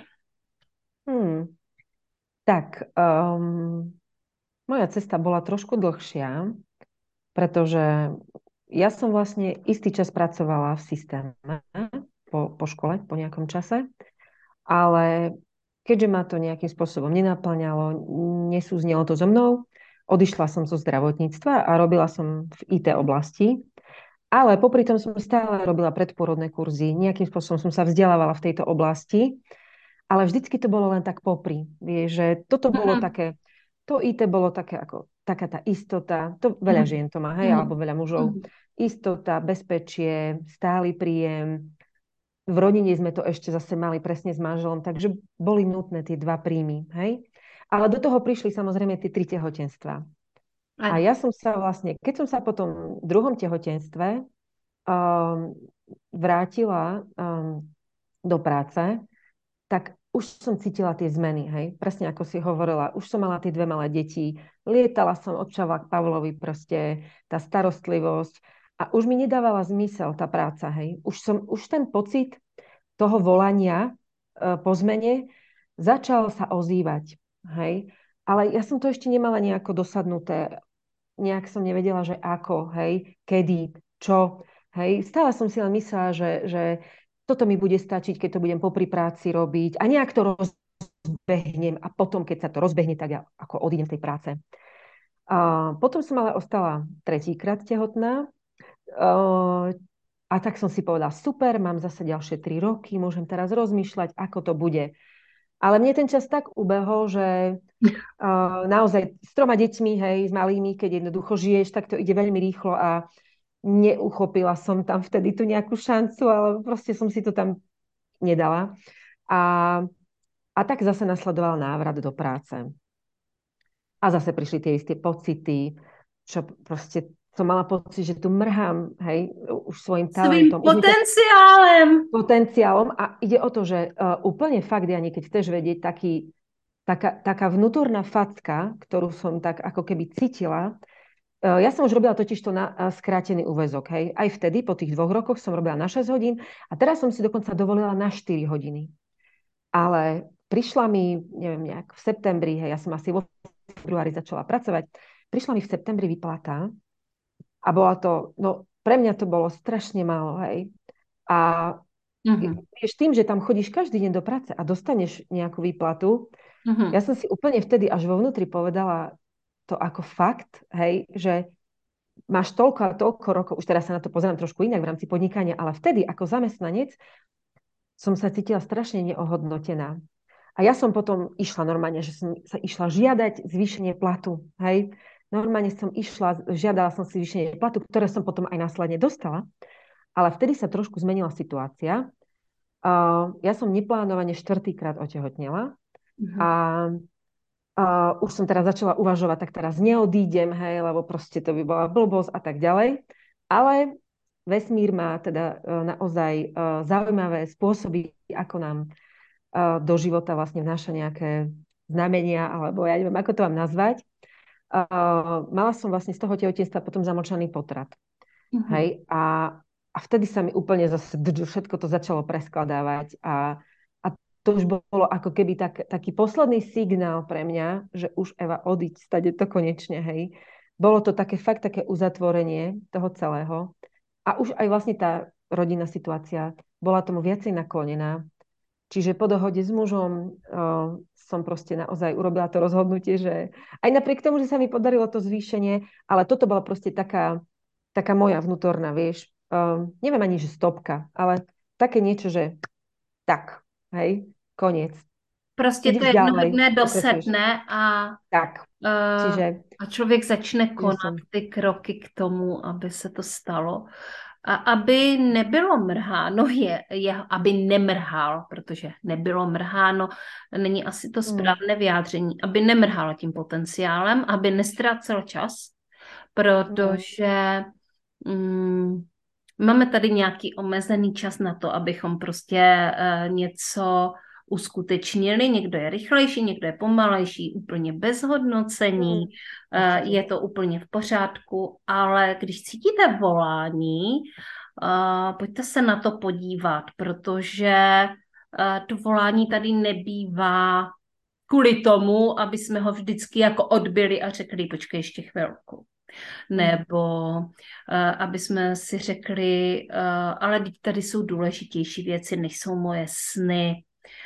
Tak, moja cesta bola trošku dlhšia, pretože ja som vlastne istý čas pracovala v systéme po škole, po nejakom čase, ale keďže ma to nejakým spôsobom nenaplňalo, nesúznelo to so mnou, odišla som zo zdravotníctva a robila som v IT oblasti, ale popri tom som stále robila predporodné kurzy, nejakým spôsobom som sa vzdelávala v tejto oblasti, ale vždycky to bolo len tak popri. Vieš, že toto bolo také, to IT bolo také ako taká tá istota, to veľa žien to má, hej, alebo veľa mužov. Istota, bezpečie, stály príjem. V rodine sme to ešte zase mali presne s manželom, takže boli nutné tie dva príjmy, hej. Ale do toho prišli samozrejme tie 3 tehotenstva. A ja som sa vlastne, keď som sa po tom druhom tehotenstve vrátila do práce, tak už som cítila tie zmeny, hej. Presne ako si hovorila, už som mala tie 2 malé deti, lietala som od Čavla k Pavlovi, proste tá starostlivosť a už mi nedávala zmysel tá práca, hej. Už ten pocit toho volania po zmene začal sa ozývať, hej. Ale ja som to ešte nemala nejako dosadnuté, nejak som nevedela, že ako, hej, kedy, čo, hej. Stále som si len myslela, že toto mi bude stačiť, keď to budem popri práci robiť a nejak to rozbehnem a potom, keď sa to rozbehne, tak ja ako odídem z tej práce. A potom som ale ostala 3-krát tehotná a A tak som si povedala, super, mám zase ďalšie 3 roky, môžem teraz rozmýšľať, ako to bude. Ale mne ten čas tak ubehol, že naozaj s 3 deťmi, hej, s malými, keď jednoducho žiješ, tak to ide veľmi rýchlo a neuchopila som tam vtedy tú nejakú šancu, ale proste som si to tam nedala. A tak zase nasledoval návrat do práce. A zase prišli tie isté pocity, čo proste som mala pocit, že tu mrhám, hej, už svojim Svým talentom. potenciálem. Potenciálom. A ide o to, že úplne fakt, Jani, keď chceš vedieť, taká vnútorná facka, ktorú som tak ako keby cítila. Ja som už robila totiž to na skrátený úväzok. Hej. Aj vtedy, po tých 2 rokoch, som robila na 6 hodín a teraz som si dokonca dovolila na 4 hodiny. Ale prišla mi, neviem, nejak v septembri, hej, ja som asi vo februári začala pracovať, prišla mi v septembri výplata a bola to, no pre mňa to bolo strašne málo, hej. A vieš, tým, že tam chodíš každý deň do práce a dostaneš nejakú výplatu, ja som si úplne vtedy až vo vnútri povedala to ako fakt, hej, že máš toľko a toľko rokov, už teraz sa na to pozerám trošku inak v rámci podnikania, ale vtedy ako zamestnanec som sa cítila strašne neohodnotená. A ja som potom išla normálne, že som sa išla žiadať zvýšenie platu, hej. Normálne som išla, žiadala som si zvýšenie platu, ktoré som potom aj následne dostala, ale vtedy sa trošku zmenila situácia. Ja som neplánovane 4-krát otehotnela a už som teraz začala uvažovať, tak teraz neodídem, hej, lebo proste to by bola blbosť a tak ďalej. Ale vesmír má teda naozaj zaujímavé spôsoby, ako nám do života vlastne vnáša nejaké znamenia, alebo ja neviem, ako to mám nazvať. Mala som vlastne z toho tehotenstva potom zamlčaný potrat. Hej, a vtedy sa mi úplne zase všetko to začalo preskladávať a to už bolo ako keby taký posledný signál pre mňa, že už Eva, odiť, stade to konečne, hej. Bolo to také fakt také uzatvorenie toho celého a už aj vlastne tá rodinná situácia bola tomu viacej naklonená. Čiže po dohode s mužom som proste naozaj urobila to rozhodnutie, že aj napriek tomu, že sa mi podarilo to zvýšenie, ale toto bola proste taká moja vnútorná, vieš, neviem ani, že stopka, ale také niečo, že tak, hej, koniec. Prostě to jednoho dne dosedne tak. A člověk začne konat ty kroky k tomu, aby se to stalo. A aby nebylo mrháno, aby nemrhal, protože nebylo mrháno, není asi to správné vyjádření, aby nemrhal tím potenciálem, aby nestrácel čas, protože máme tady nějaký omezený čas na to, abychom prostě něco uskutečnili. Někdo je rychlejší, někdo je pomalejší, úplně bez hodnocení, je to úplně v pořádku, ale když cítíte volání, pojďte se na to podívat, protože to volání tady nebývá kvůli tomu, aby jsme ho vždycky jako odbyli a řekli, počkej ještě chvilku. Nebo aby jsme si řekli, ale tady jsou důležitější věci, než jsou moje sny.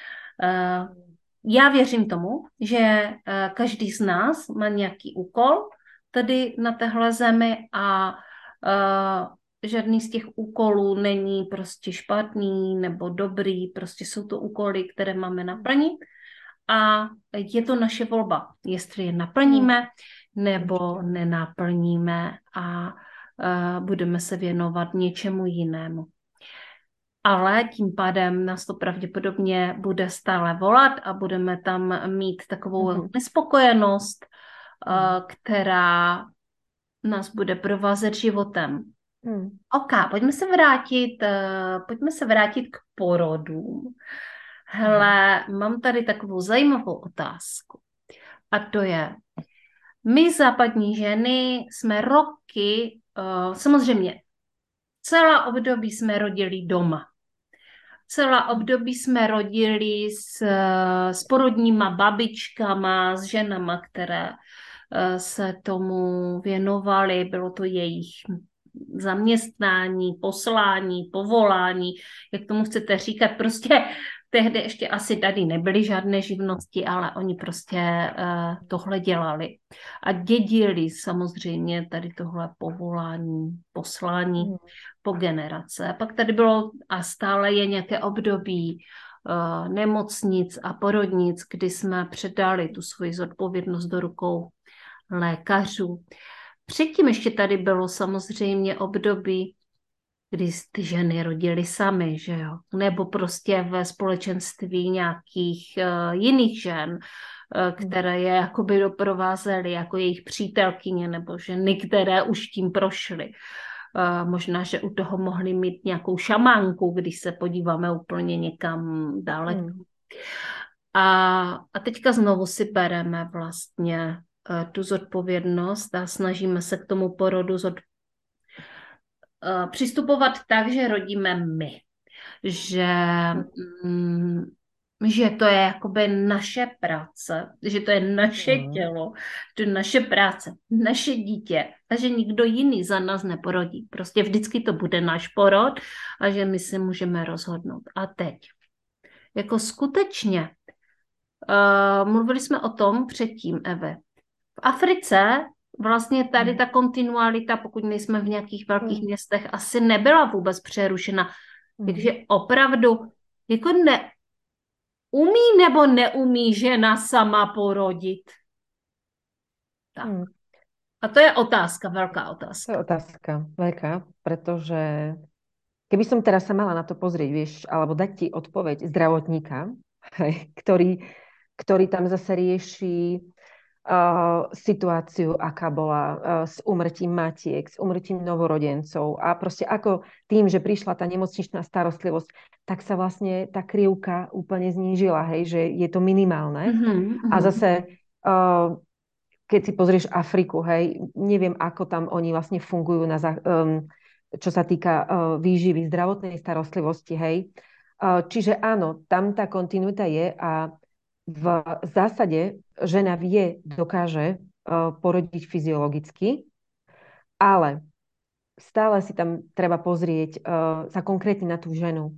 Já věřím tomu, že každý z nás má nějaký úkol tady na téhle zemi a žádný z těch úkolů není prostě špatný nebo dobrý, prostě jsou to úkoly, které máme naplnit a je to naše volba, jestli je naplníme nebo nenaplníme a budeme se věnovat něčemu jinému. Ale tím pádem nás to pravděpodobně bude stále volat a budeme tam mít takovou nespokojenost, která nás bude provázet životem. OK, pojďme se vrátit k porodům. Hele, mám tady takovou zajímavou otázku. A to je, my západní ženy jsme roky, samozřejmě celá období jsme rodili doma. Celá období jsme rodili s porodníma babičkama, s ženama, které se tomu věnovaly. Bylo to jejich zaměstnání, poslání, povolání, jak tomu chcete říkat. Prostě Tehdy ještě asi tady nebyly žádné živnosti, ale oni prostě tohle dělali. A dědili samozřejmě tady tohle povolání, poslání po generace. A pak tady bylo a stále je nějaké období nemocnic a porodnic, kdy jsme předali tu svoji zodpovědnost do rukou lékařů. Předtím ještě tady bylo samozřejmě období, kdy ty ženy rodily samy, že jo? Nebo prostě ve společenství nějakých jiných žen, které je jakoby doprovázely jako jejich přítelkyně nebo ženy, které už tím prošly. Možná, že u toho mohli mít nějakou šamánku, když se podíváme úplně někam daleko. A teďka znovu si bereme vlastně tu zodpovědnost a snažíme se k tomu porodu přistupovat tak, že rodíme my. Že to je jakoby naše práce, že to je naše tělo, to je naše práce, naše dítě a že nikdo jiný za nás neporodí. Prostě vždycky to bude náš porod a že my si můžeme rozhodnout. A teď, jako skutečně, mluvili jsme o tom předtím, Eve. V Africe vlastně tady ta kontinualita, pokud nejsme v nějakých velkých městech, asi nebyla vůbec přerušena. Takže opravdu jako umí nebo neumí žena sama porodit? Tak. A to je otázka, veľká otázka. To je otázka, veľká, pretože keby som teraz sa mala na to pozrieť, vieš, alebo dať ti odpoveď zdravotníka, ktorý tam zase rieši situáciu, aká bola s úmrtím matiek, s úmrtím novorodencov a proste ako tým, že prišla tá nemocničná starostlivosť, tak sa vlastne tá krivka úplne znížila, hej, že je to minimálne. A zase, keď si pozrieš Afriku, hej, neviem, ako tam oni vlastne fungujú, čo sa týka výživy, zdravotnej starostlivosti, hej. Čiže áno, tam tá kontinuita je a v zásade žena dokáže porodiť fyziologicky, ale stále si tam treba pozrieť sa konkrétne na tú ženu,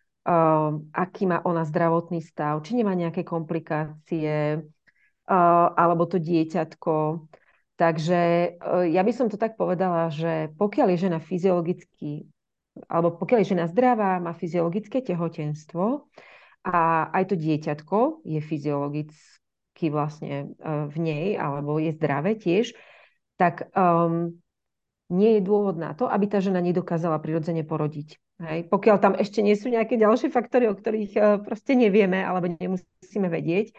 aký má ona zdravotný stav, či nemá nejaké komplikácie, alebo to dieťatko. Takže ja by som to tak povedala, že pokiaľ je žena fyziologicky, alebo pokiaľ je žena zdravá, má fyziologické tehotenstvo, a aj to dieťatko je fyziologicky vlastne v nej, alebo je zdravé tiež, tak nie je dôvod na to, aby tá žena nedokázala prirodzene porodiť. Hej? Pokiaľ tam ešte nie sú nejaké ďalšie faktory, o ktorých proste nevieme, alebo nemusíme vedieť.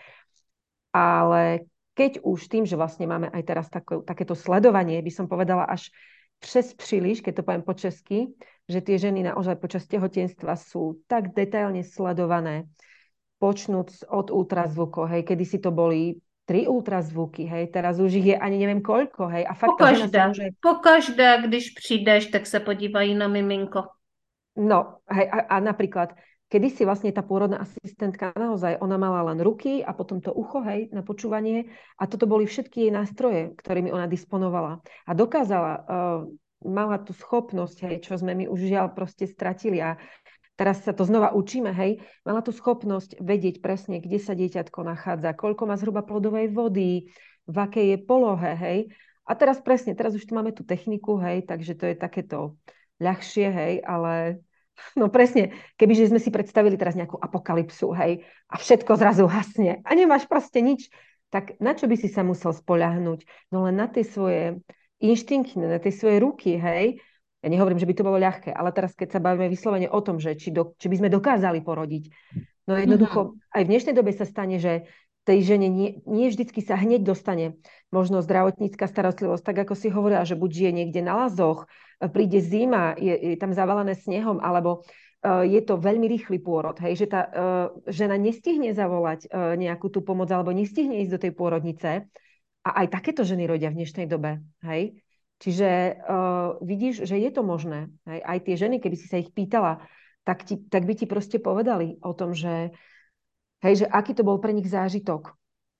Ale keď už tým, že vlastne máme aj teraz takéto sledovanie, by som povedala až přes príliš, keď to poviem po česky, že tie ženy naozaj počas tehotenstva sú tak detailne sledované, počnúc od ultrazvukov, hej, kedysi to boli 3 ultrazvuky, hej, teraz už ich je ani neviem koľko, hej, a fakt pokaždé, když přijdeš, tak sa podívají na miminko. No, hej, a napríklad, kedysi vlastne tá pôrodná asistentka naozaj, ona mala len ruky a potom to ucho, hej, na počúvanie a toto boli všetky jej nástroje, ktorými ona disponovala a dokázala, mala tú schopnosť, hej, čo sme my už žiaľ proste stratili a teraz sa to znova učíme, hej, mala tú schopnosť vedieť presne, kde sa dieťatko nachádza, koľko má zhruba plodovej vody, v akej je polohe, hej. A teraz už tu máme tú techniku, hej, takže to je takéto ľahšie, hej, ale no presne, kebyže sme si predstavili teraz nejakú apokalypsu, hej, a všetko zrazu hasne a nemáš proste nič, tak na čo by si sa musel spoľahnúť? No len na tie svoje inštinkty, na tie svoje ruky, hej. Ja nehovorím, že by to bolo ľahké, ale teraz, keď sa bavíme vyslovene o tom, že či by sme dokázali porodiť, no jednoducho, aj v dnešnej dobe sa stane, že tej žene nie vždycky sa hneď dostane možno zdravotnícka starostlivosť, tak ako si hovorila, že buď žije niekde na lazoch, príde zima, je tam zavalené snehom, alebo je to veľmi rýchly pôrod, hej, že tá žena nestihne zavolať nejakú tú pomoc, alebo nestihne ísť do tej pôrodnice. A aj takéto ženy rodia v dnešnej dobe, hej. Čiže vidíš, že je to možné. Hej? Aj tie ženy, keby si sa ich pýtala, tak by ti proste povedali o tom, že, hej, že aký to bol pre nich zážitok,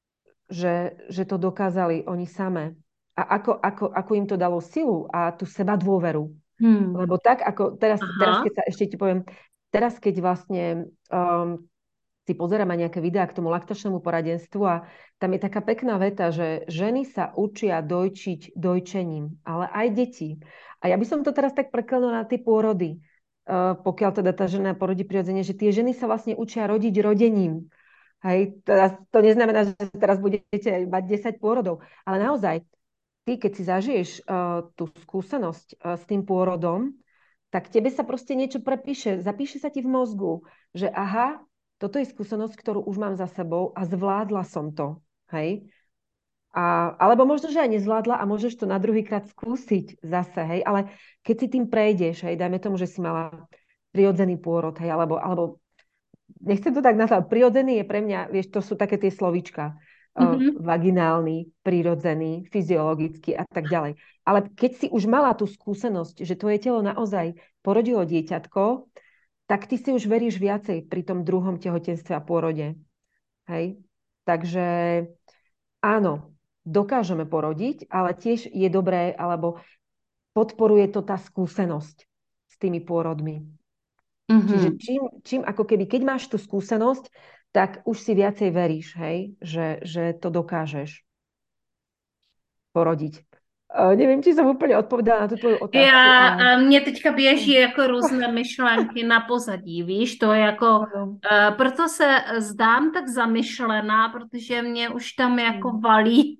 že to dokázali oni samé. A ako im to dalo silu a tú seba dôveru. Lebo tak, ako teraz, keď sa ešte ti poviem, teraz, keď vlastne si pozerám aj nejaké videá k tomu laktačnému poradenstvu a tam je taká pekná veta, že ženy sa učia dojčiť dojčením, ale aj deti. A ja by som to teraz tak preklenula na tie pôrody, pokiaľ teda tá žena porodí prirodzene, že tie ženy sa vlastne učia rodiť rodením. Hej, teraz, to neznamená, že teraz budete mať 10 pôrodov, ale naozaj, ty, keď si zažiješ tú skúsenosť s tým pôrodom, tak tebe sa proste niečo prepíše, zapíše sa ti v mozgu, že aha, toto je skúsenosť, ktorú už mám za sebou a zvládla som to. Hej? Alebo možno, že aj nezvládla a môžeš to na druhýkrát skúsiť zase, hej, ale keď si tým prejdeš, hej, dajme tomu, že si mala prirodzený pôrod, hej, alebo nechcem to tak nazvať, prirodzený je pre mňa, vieš, to sú také tie slovíčka, vaginálny, prirodzený, fyziologický a tak ďalej. Ale keď si už mala tú skúsenosť, že tvoje telo naozaj porodilo dieťatko, tak ty si už veríš viacej pri tom druhom tehotenstve a pôrode. Hej? Takže áno, dokážeme porodiť, ale tiež je dobré, alebo podporuje to tá skúsenosť s tými pôrodmi. Čiže čím ako keby, keď máš tú skúsenosť, tak už si viacej veríš, hej, že to dokážeš porodiť. Nevím, či jsem úplně odpovedala na tu tvoju otázku. Mě teďka běží jako různé myšlenky na pozadí, víš, to jako, proto se zdám tak zamyšlená, protože mě už tam jako valí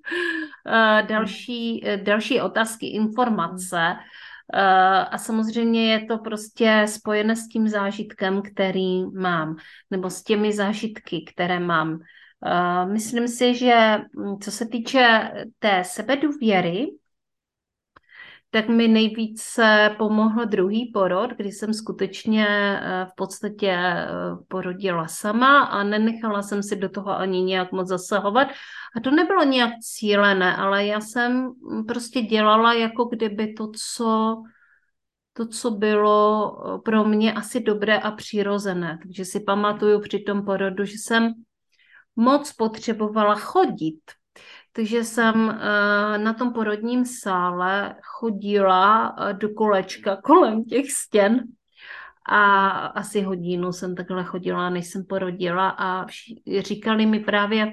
další otázky, informace. A samozřejmě je to prostě spojené s tím zážitkem, který mám, nebo s těmi zážitky, které mám. Myslím si, že co se týče té sebedůvěry, tak mi nejvíce pomohl druhý porod, kdy jsem skutečně v podstatě porodila sama a nenechala jsem si do toho ani nějak moc zasahovat. A to nebylo nějak cílené, ale já jsem prostě dělala jako kdyby to, co bylo pro mě asi dobré a přirozené. Takže si pamatuju při tom porodu, že jsem moc potřebovala chodit. Takže jsem na tom porodním sále chodila do kolečka kolem těch stěn a asi hodinu jsem takhle chodila, než jsem porodila a říkali mi právě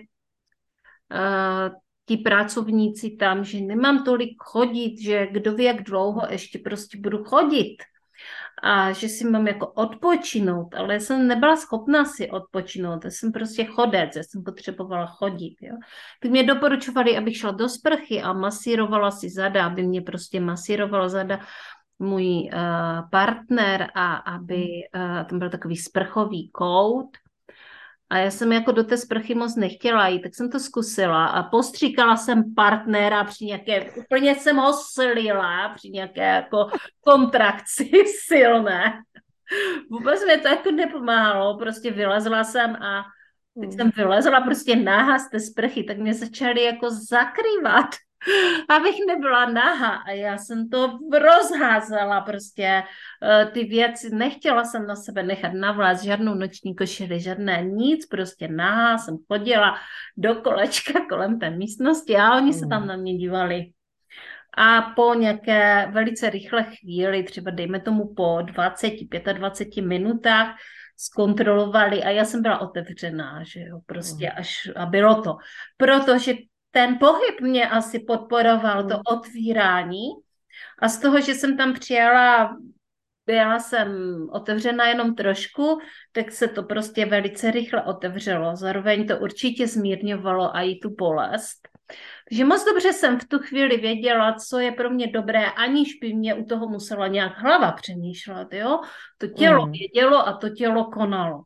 ti pracovníci tam, že nemám tolik chodit, že kdo ví, jak dlouho ještě prostě budu chodit. A že si mám jako odpočinout, ale já jsem nebyla schopná si odpočinout, já jsem prostě chodec, já jsem potřebovala chodit. Jo. Tak mě doporučovali, abych šla do sprchy a masírovala si zada, aby mě prostě masírovala zada můj partner a aby tam byl takový sprchový kout. A já jsem jako do té sprchy moc nechtěla jít, tak jsem to zkusila a postříkala jsem partnera při nějaké, úplně jsem ho slila při nějaké jako kontrakci silné. Vůbec mi to jako nepomáhalo, prostě vylezla jsem a teď jsem vylezla prostě nahá z té sprchy, tak mě začaly jako zakrývat, abych nebyla nahá a já jsem to rozházela prostě ty věci, nechtěla jsem na sebe nechat navléct žádnou noční košili, žádné nic, prostě nahá jsem chodila do kolečka kolem té místnosti a oni se tam na mě dívali. A po nějaké velice rychlé chvíli, třeba dejme tomu po 20, 25 minutách, zkontrolovali a já jsem byla otevřená, že jo, prostě až a bylo to. Protože ten pohyb mě asi podporoval, to otvírání a z toho, že jsem tam přijela, byla jsem otevřená jenom trošku, tak se to prostě velice rychle otevřelo. Zároveň to určitě zmírňovalo i tu bolest. Takže moc dobře jsem v tu chvíli věděla, co je pro mě dobré, aniž by mě u toho musela nějak hlava přemýšlet, jo. To tělo vědělo a to tělo konalo.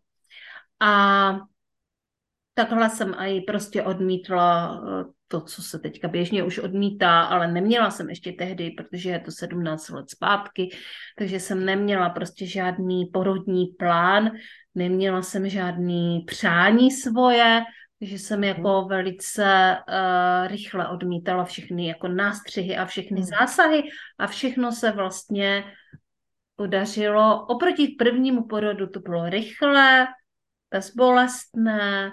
A takhle jsem i prostě odmítla to, co se teďka běžně už odmítá, ale neměla jsem ještě tehdy, protože je to 17 let zpátky, takže jsem neměla prostě žádný porodní plán, neměla jsem žádný přání svoje, takže jsem jako velice rychle odmítala všechny jako nástřihy a všechny zásahy a všechno se vlastně podařilo. Oproti prvnímu porodu to bylo rychlé, bezbolestné,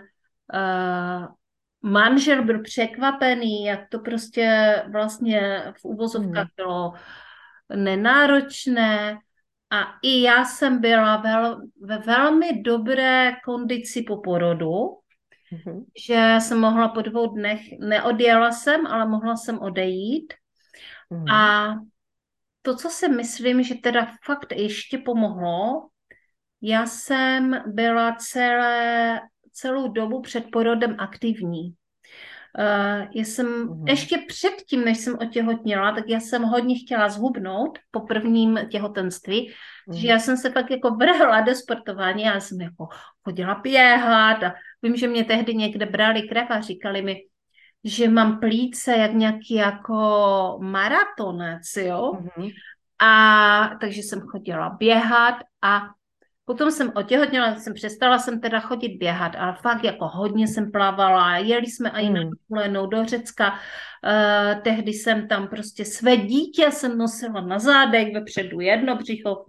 manžel byl překvapený, jak to prostě vlastně v uvozovkách bylo nenáročné A i já jsem byla ve velmi dobré kondici po porodu, Mhm. že jsem mohla po 2 dnech, neodjela jsem, ale mohla jsem odejít. Mhm. A to, co si myslím, že teda fakt ještě pomohlo, já jsem byla celou dobu před porodem aktivní. Já jsem Mhm. ještě předtím, než jsem otěhotněla, tak já jsem hodně chtěla zhubnout po prvním těhotenství, takže Mhm. já jsem se pak jako vrhla do sportování, já jsem jako chodila běhat a vím, že mě tehdy někde brali krev a říkali mi, že mám plíce jak nějaký jako maratonec, jo. Mhm. A takže jsem chodila běhat a potom jsem otěhotněla, přestala jsem teda chodit běhat, ale fakt jako hodně jsem plavala, jeli jsme i na Mhm. dovolenou do Řecka, tehdy jsem tam prostě své dítě jsem nosila na zádech, vepředu jedno břicho,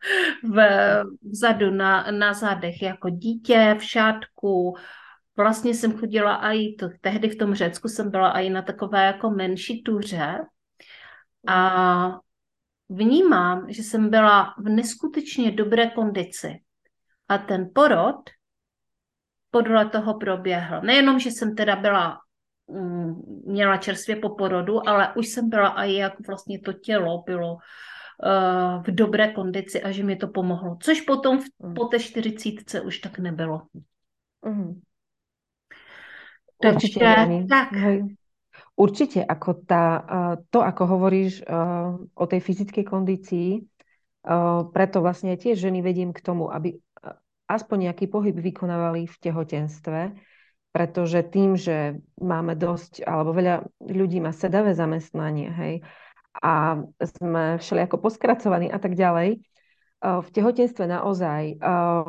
vzadu na zádech jako dítě v šátku. Vlastně jsem chodila i to, tehdy v tom Řecku jsem byla i na takové jako menší tuře a vnímám, že jsem byla v neskutečně dobré kondici. A ten porod podle toho proběhl. Nejenom, že jsem teda měla čerstvě po porodu, ale už jsem byla i jak vlastně to tělo bylo v dobré kondici a že mi to pomohlo. Což potom Mhm. po té 40 už tak nebylo. Mhm. Určite, Takže Jani. tak. Hej. Určite, ako to, ako hovoríš o tej fyzickej kondícii, preto vlastne tiež ženy vediem k tomu, aby aspoň nejaký pohyb vykonávali v tehotenstve, pretože tým, že máme dosť, alebo veľa ľudí má sedavé zamestnanie, hej, a sme všelijako poskracovaní a tak ďalej, v tehotenstve naozaj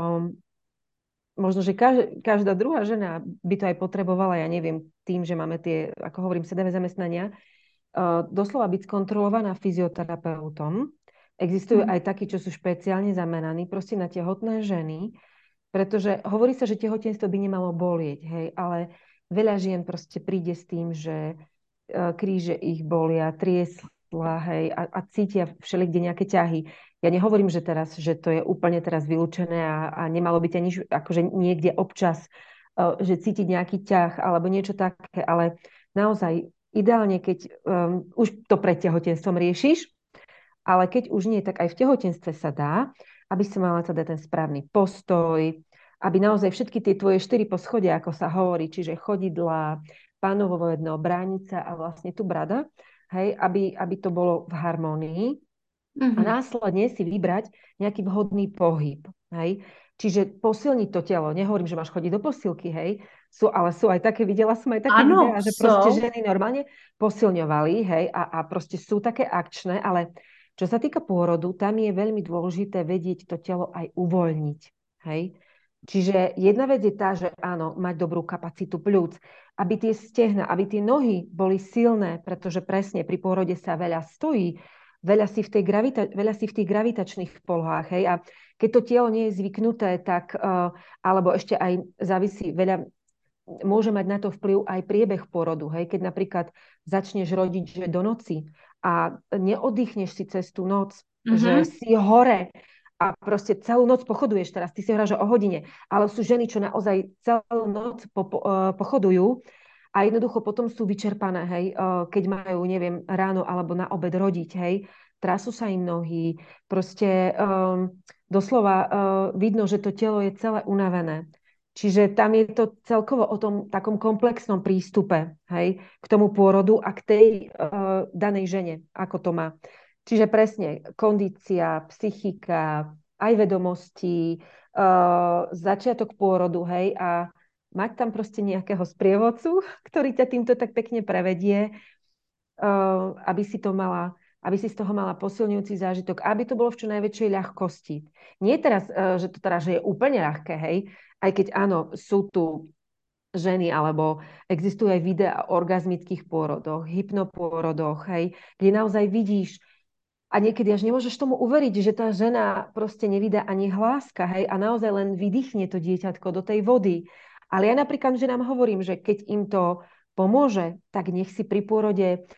možno, že každá druhá žena by to aj potrebovala, ja neviem, tým, že máme tie, ako hovorím, sedavé zamestnania, doslova byť skontrolovaná fyzioterapeutom. Existujú Hm. aj takí, čo sú špeciálne zameraní proste na tehotné ženy, pretože hovorí sa, že tehotenstvo by nemalo bolieť, hej, ale veľa žien proste príde s tým, že kríže ich bolia, triesla, hej, a cítia všelikde nejaké ťahy. Ja nehovorím, že teraz, že to je úplne teraz vylúčené a nemalo byť ani akože niekde občas, že cítiť nejaký ťah alebo niečo také, ale naozaj ideálne, keď už to pred tehotenstvom riešiš, ale keď už nie, tak aj v tehotenstve sa dá, aby si mala teda ten správny postoj, aby naozaj všetky tie tvoje 4 poschodia, ako sa hovorí, čiže chodidlá, pánovo jedno, bránica a vlastne tu brada, hej, aby to bolo v harmónii a Mhm. následne si vybrať nejaký vhodný pohyb, hej. Čiže posilniť to telo. Nehovorím, že máš chodiť do posilky, hej. Ale sú aj také, videla som aj také Ano, videá, že proste jsou. ženy normálne posilňovali, hej, a proste sú také akčné, ale čo sa týka pôrodu, tam je veľmi dôležité vedieť to telo aj uvoľniť, hej. Čiže jedna vec je tá, že áno, mať dobrú kapacitu pľúc, aby tie stehna, aby tie nohy boli silné, pretože presne pri pôrode sa veľa stojí, veľa si v tých gravitačných polohách, hej, a keď to telo nie je zvyknuté, tak, alebo ešte aj závisí veľa, môže mať na to vplyv aj priebeh porodu, hej, keď napríklad začneš rodiť, že do noci a neoddychneš si cez tú noc, že Mhm. si hore a proste celú noc pochoduješ teraz, ty si hovoríš o hodine, ale sú ženy, čo naozaj celú noc pochodujú a jednoducho potom sú vyčerpané, hej, keď majú, neviem, ráno alebo na obed rodiť, hej, trasú sa im nohy, proste doslova vidno, že to telo je celé unavené. Čiže tam je to celkovo o tom takom komplexnom prístupe, hej, k tomu pôrodu a k tej danej žene, ako to má. Čiže presne kondícia, psychika, aj vedomosti, začiatok pôrodu, hej, a mať tam proste nejakého sprievodcu, ktorý ťa týmto tak pekne prevedie, aby si z toho mala posilňujúci zážitok, aby to bolo v čo najväčšej ľahkosti. Nie teraz, že to teda, že je úplne ľahké, hej, aj keď áno, sú tu ženy, alebo existujú aj videá o orgazmických pôrodoch, hypnopôrodoch, hej, kde naozaj vidíš a niekedy až nemôžeš tomu uveriť, že tá žena proste nevydá ani hláska, hej, a naozaj len vydýchne to dieťatko do tej vody. Ale ja napríklad ženám hovorím, že keď im to pomôže, tak nech si pri pôrode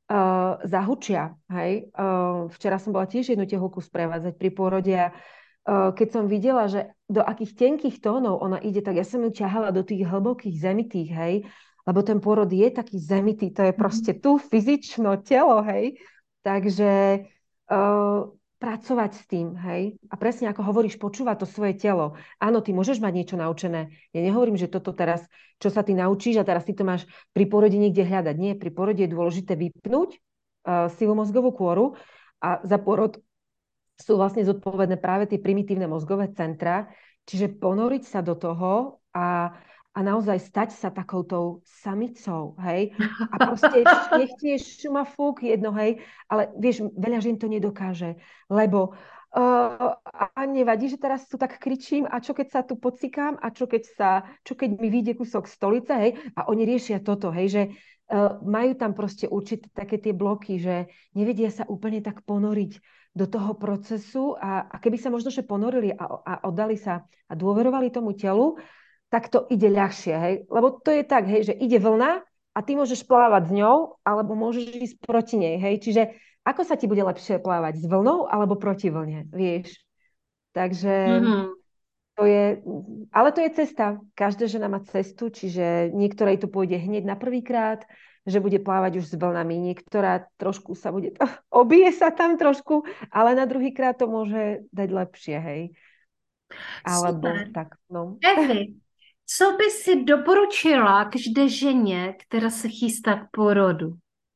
zahučia. Hej? Včera som bola tiež jednu tehulku sprevádzať pri pôrode a keď som videla, že do akých tenkých tónov ona ide, tak ja som ju ťahala do tých hlbokých zemitých, hej, lebo ten pôrod je taký zemitý, to je proste tu fyzično telo, hej. Takže pracovať s tým, hej. A presne ako hovoríš, počúvať to svoje telo. Áno, ty môžeš mať niečo naučené. Ja nehovorím, že toto teraz, čo sa ty naučíš a teraz ty to máš pri pôrode niekde hľadať. Nie, pri pôrode je dôležité vypnúť silu mozgovú kôru a za pôrod sú vlastne zodpovedné práve tie primitívne mozgové centra, čiže ponoriť sa do toho a naozaj stať sa takoutou samicou, hej? A proste nech ti je šuma fúk jedno, hej? Ale vieš, veľa žien to nedokáže, lebo a nevadí, že teraz tu tak kričím a čo keď sa tu pocikám a čo keď mi vyjde kúsok stolice, hej? A oni riešia toto, hej, že majú tam proste určité také tie bloky, že nevedia sa úplne tak ponoriť do toho procesu a keby sa možno že ponorili a oddali sa a dôverovali tomu telu, tak to ide ľahšie, hej? Lebo to je tak, hej, že ide vlna a ty môžeš plávať s ňou, alebo môžeš ísť proti nej, hej? Čiže ako sa ti bude lepšie plávať, s vlnou alebo proti vlne, vieš? Takže Mhm. to je, ale to je cesta. Každá žena má cestu, čiže niektorej to pôjde hneď na prvýkrát, že bude plávať už s vlnami. Niektorá trošku sa bude, obije sa tam trošku, ale na druhýkrát to môže dať lepšie, hej. Alebo Super. tak, no. Evi, co by si doporučila každé ženě, která se chystá k porodu?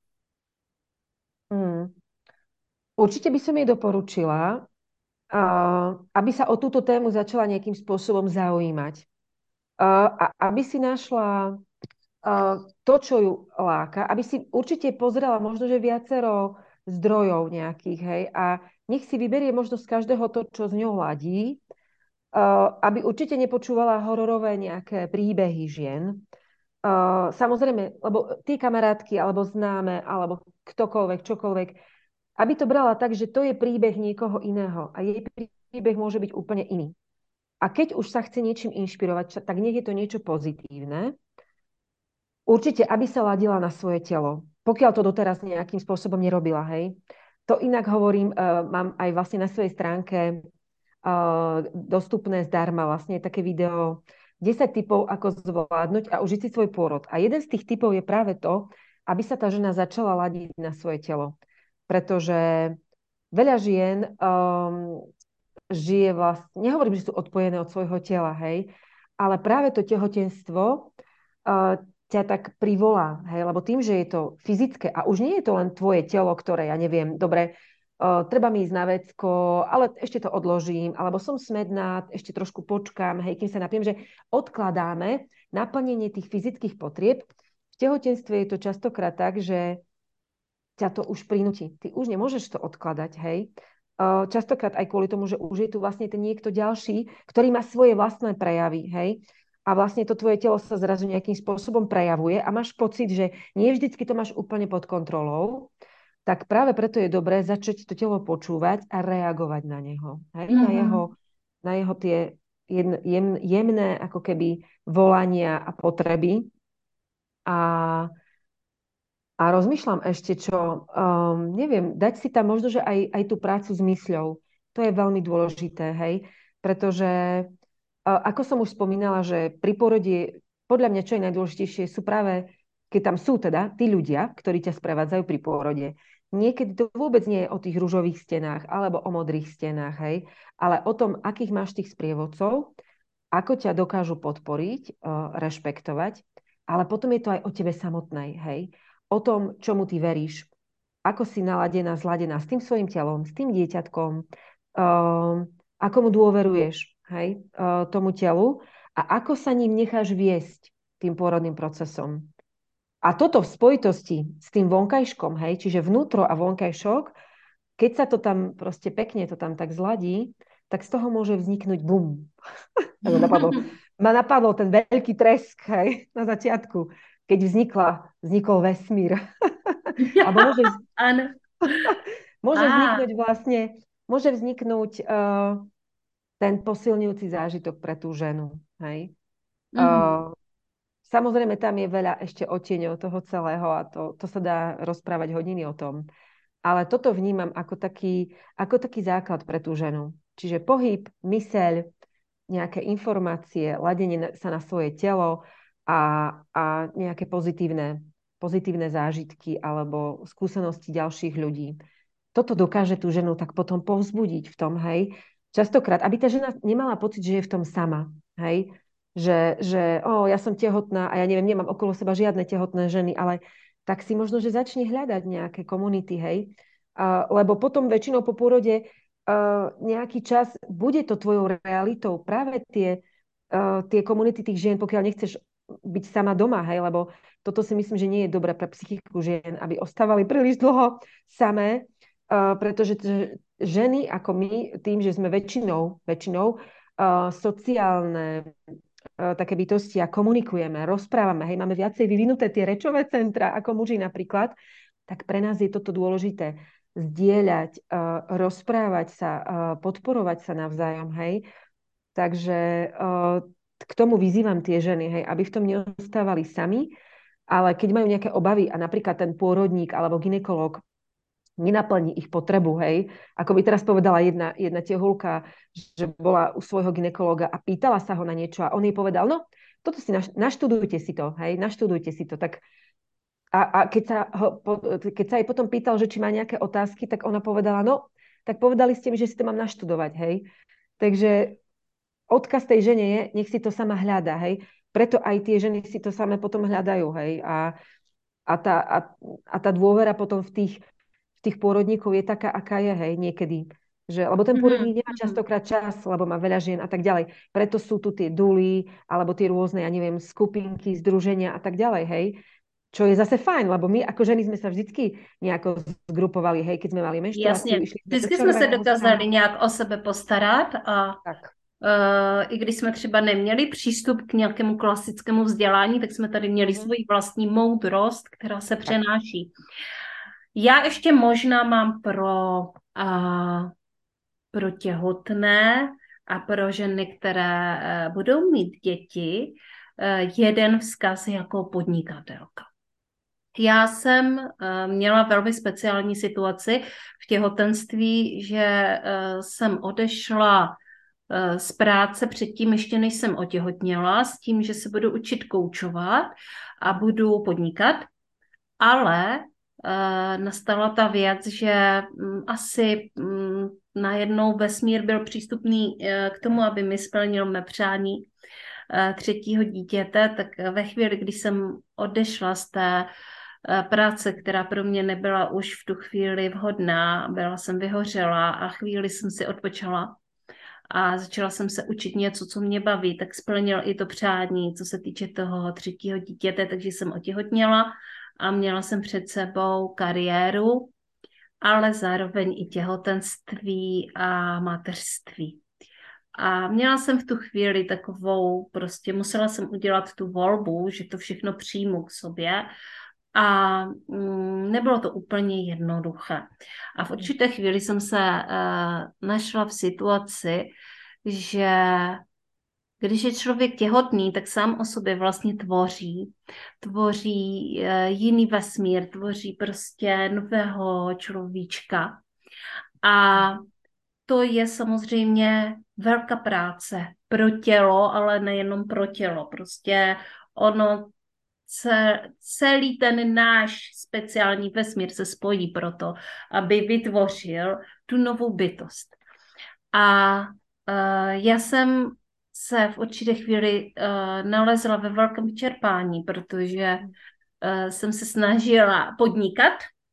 Mm. Určite by som jej doporučila, aby sa o túto tému začala nejakým spôsobom zaujímať. A aby si našla to, čo ju láka, aby si určite pozrela možno, že viacero zdrojov nejakých, hej, a nech si vyberie možno z každého to, čo z ňou ladí, aby určite nepočúvala hororové nejaké príbehy žien. Samozrejme, lebo tí kamarátky, alebo známe, alebo ktokoľvek, čokoľvek, aby to brala tak, že to je príbeh niekoho iného a jej príbeh môže byť úplne iný. A keď už sa chce niečím inšpirovať, tak nech je to niečo pozitívne. Určite, aby sa ladila na svoje telo. Pokiaľ to doteraz nejakým spôsobom nerobila, hej. To inak hovorím, mám aj vlastne na svojej stránke dostupné zdarma vlastne také video 10 typov, ako zvládnuť a užiť si svoj pôrod. A jeden z tých typov je práve to, aby sa tá žena začala ladiť na svoje telo. Pretože veľa žien žije vlastne, nehovorím, že sú odpojené od svojho tela, hej, ale práve to tehotenstvo ťa tak privolá, hej, lebo tým, že je to fyzické a už nie je to len tvoje telo, ktoré, ja neviem, dobre, treba mi ísť na vecko, ale ešte to odložím, alebo som smedná, ešte trošku počkám, hej, kým sa napiem, že odkladáme naplnenie tých fyzických potrieb. V tehotenstve je to častokrát tak, že ťa to už prinúti. Ty už nemôžeš to odkladať, hej. Častokrát aj kvôli tomu, že už je tu vlastne ten niekto ďalší, ktorý má svoje vlastné prejavy, hej. A vlastne to tvoje telo sa zrazu nejakým spôsobom prejavuje a máš pocit, že nie vždycky to máš úplne pod kontrolou, tak práve preto je dobré začať to telo počúvať a reagovať na neho. Hej? Mhm. Na jeho tie jemné ako keby volania a potreby. A rozmýšľam ešte, čo, neviem, dať si tam možno, že aj tú prácu s mysľou. To je veľmi dôležité, hej? Pretože, ako som už spomínala, že pri porode, podľa mňa, čo je najdôležitejšie, sú práve, keď tam sú teda tí ľudia, ktorí ťa sprevádzajú pri pôrode. Niekedy to vôbec nie je o tých ružových stenách alebo o modrých stenách, hej? Ale o tom, akých máš tých sprievodcov, ako ťa dokážu podporiť, rešpektovať, ale potom je to aj o tebe samotnej, hej? O tom, čomu ty veríš, ako si naladená, zladená s tým svojim telom, s tým dieťatkom, ako mu dôveruješ, hej, tomu telu a ako sa ním necháš viesť tým pôrodným procesom. A toto v spojitosti s tým vonkajškom, hej, čiže vnútro a vonkajšok, keď sa to tam proste pekne to tam tak zladí, tak z toho môže vzniknúť bum. Ma napadol ten veľký tresk, hej, na začiatku, keď vznikol vesmír. Alebo Ano. môže A, vzniknúť vlastne, môže vzniknúť ten posilňujúci zážitok pre tú ženu, hej. mhm. Samozrejme, tam je veľa ešte odtieňov toho celého a to sa dá rozprávať hodiny o tom. Ale toto vnímam ako taký základ pre tú ženu. Čiže pohyb, myseľ, nejaké informácie, ladenie sa na svoje telo a nejaké pozitívne zážitky alebo skúsenosti ďalších ľudí. Toto dokáže tú ženu tak potom povzbudiť v tom, hej. Častokrát, aby tá žena nemala pocit, že je v tom sama, hej. Že ja som tehotná a ja neviem, nemám okolo seba žiadne tehotné ženy, ale tak si možno, že začne hľadať nejaké komunity, hej. Lebo potom väčšinou po pôrode nejaký čas bude to tvojou realitou. Práve tie komunity tých žien, pokiaľ nechceš byť sama doma, hej, lebo toto si myslím, že nie je dobré pre psychiku žien, aby ostávali príliš dlho samé, pretože ženy ako my, tým, že sme väčšinou sociálne také bytosti a komunikujeme, rozprávame, hej, máme viacej vyvinuté tie rečové centra ako muži napríklad, tak pre nás je toto dôležité zdieľať, rozprávať sa, podporovať sa navzájom, hej. Takže k tomu vyzývam tie ženy, hej, aby v tom neostávali sami, ale keď majú nejaké obavy a napríklad ten pôrodník alebo gynekolog nenaplní ich potrebu, hej. Ako by teraz povedala jedna tehulka, že bola u svojho gynekologa a pýtala sa ho na niečo a on jej povedal, no, toto si naštudujte si to, hej, naštudujte si to. Tak keď sa jej potom pýtal, že či má nejaké otázky, tak ona povedala, no, tak povedali ste mi, že si to mám naštudovať, hej. Takže odkaz tej žene je, nech si to sama hľada, hej. Preto aj tie ženy si to samé potom hľadajú, hej. A tá dôvera potom v tých pôrodníkov je taká, aká je, hej, niekedy. Lebo ten pôrodník nemá častokrát čas, lebo má veľa žien a tak ďalej. Preto sú tu tie duly, alebo tie rôzne, ja neviem, skupinky, združenia a tak ďalej, hej. Čo je zase fajn, lebo my ako ženy sme sa vždycky nejako zgrupovali, hej, keď sme mali menštruáciu. Jasně, vždycky jsme se dokázali nějak o sebe postarat a tak. I když jsme třeba neměli přístup k nějakému klasickému vzdělání, tak jsme tady měli svoji vlastní moudrost, která se přenáší. Já ještě možná mám pro těhotné a pro ženy, které budou mít děti, jeden vzkaz jako podnikatelka. Já jsem měla velmi speciální situaci v těhotenství, že jsem odešla z práce předtím, ještě než jsem otěhotněla, s tím, že se budu učit koučovat a budu podnikat, ale nastala ta věc, že asi najednou vesmír byl přístupný k tomu, aby mi splnil mé přání třetího dítěte, tak ve chvíli, kdy jsem odešla z té práce, která pro mě nebyla už v tu chvíli vhodná, byla jsem vyhořela a chvíli jsem si odpočala a začala jsem se učit něco, co mě baví, tak splnil i to přání, co se týče toho třetího dítěte, takže jsem otěhotněla a měla jsem před sebou kariéru, ale zároveň i těhotenství a mateřství. A měla jsem v tu chvíli takovou, prostě musela jsem udělat tu volbu, že to všechno přijmu k sobě a nebylo to úplně jednoduché. A v určité chvíli jsem se našla v situaci, že když je člověk těhotný, tak sám o sobě vlastně tvoří jiný vesmír, tvoří prostě nového človíčka. A to je samozřejmě velká práce pro tělo, ale nejenom pro tělo. Prostě ono celý ten náš speciální vesmír se spojí proto, aby vytvořil tu novou bytost. A já jsem se v určité chvíli nalezla ve velkém vyčerpání, protože jsem se snažila podnikat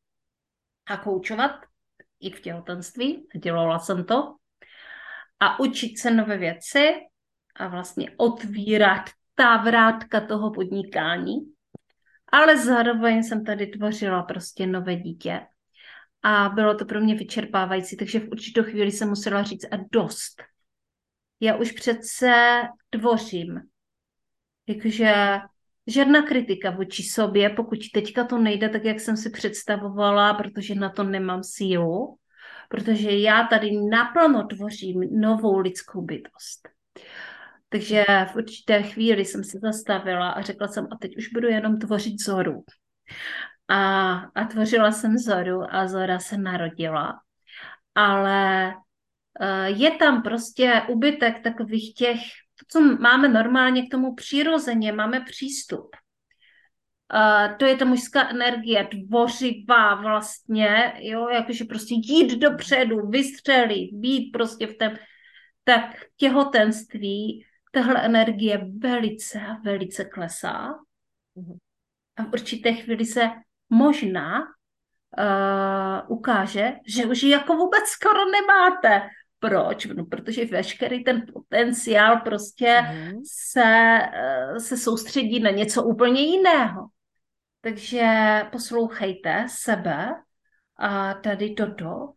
a koučovat i v těhotenství, dělala jsem to, a učit se nové věci a vlastně otvírat ta vrátka toho podnikání, ale zároveň jsem tady tvořila prostě nové dítě a bylo to pro mě vyčerpávající, takže v určitou chvíli jsem musela říct a dost. Já už přece tvořím. Takže žádná kritika vůči sobě, pokud teďka to nejde tak, jak jsem si představovala, protože na to nemám sílu, protože já tady naplno tvořím novou lidskou bytost. Takže v určité chvíli jsem se zastavila a řekla jsem, a teď už budu jenom tvořit Zoru. A tvořila jsem Zoru a Zora se narodila. Ale je tam prostě úbytek takových těch, co máme normálně k tomu přirozeně, máme přístup. To je ta mužská energie, tvořivá vlastně, jo, jakože prostě jít dopředu, vystřelit, být prostě v tom, tak těhotenství, tahle energie velice, velice klesá a v určité chvíli se možná ukáže, že už ji jako vůbec skoro nemáte. Proč? No, protože veškerý ten potenciál prostě se soustředí na něco úplně jiného. Takže poslouchejte sebe a tady toto,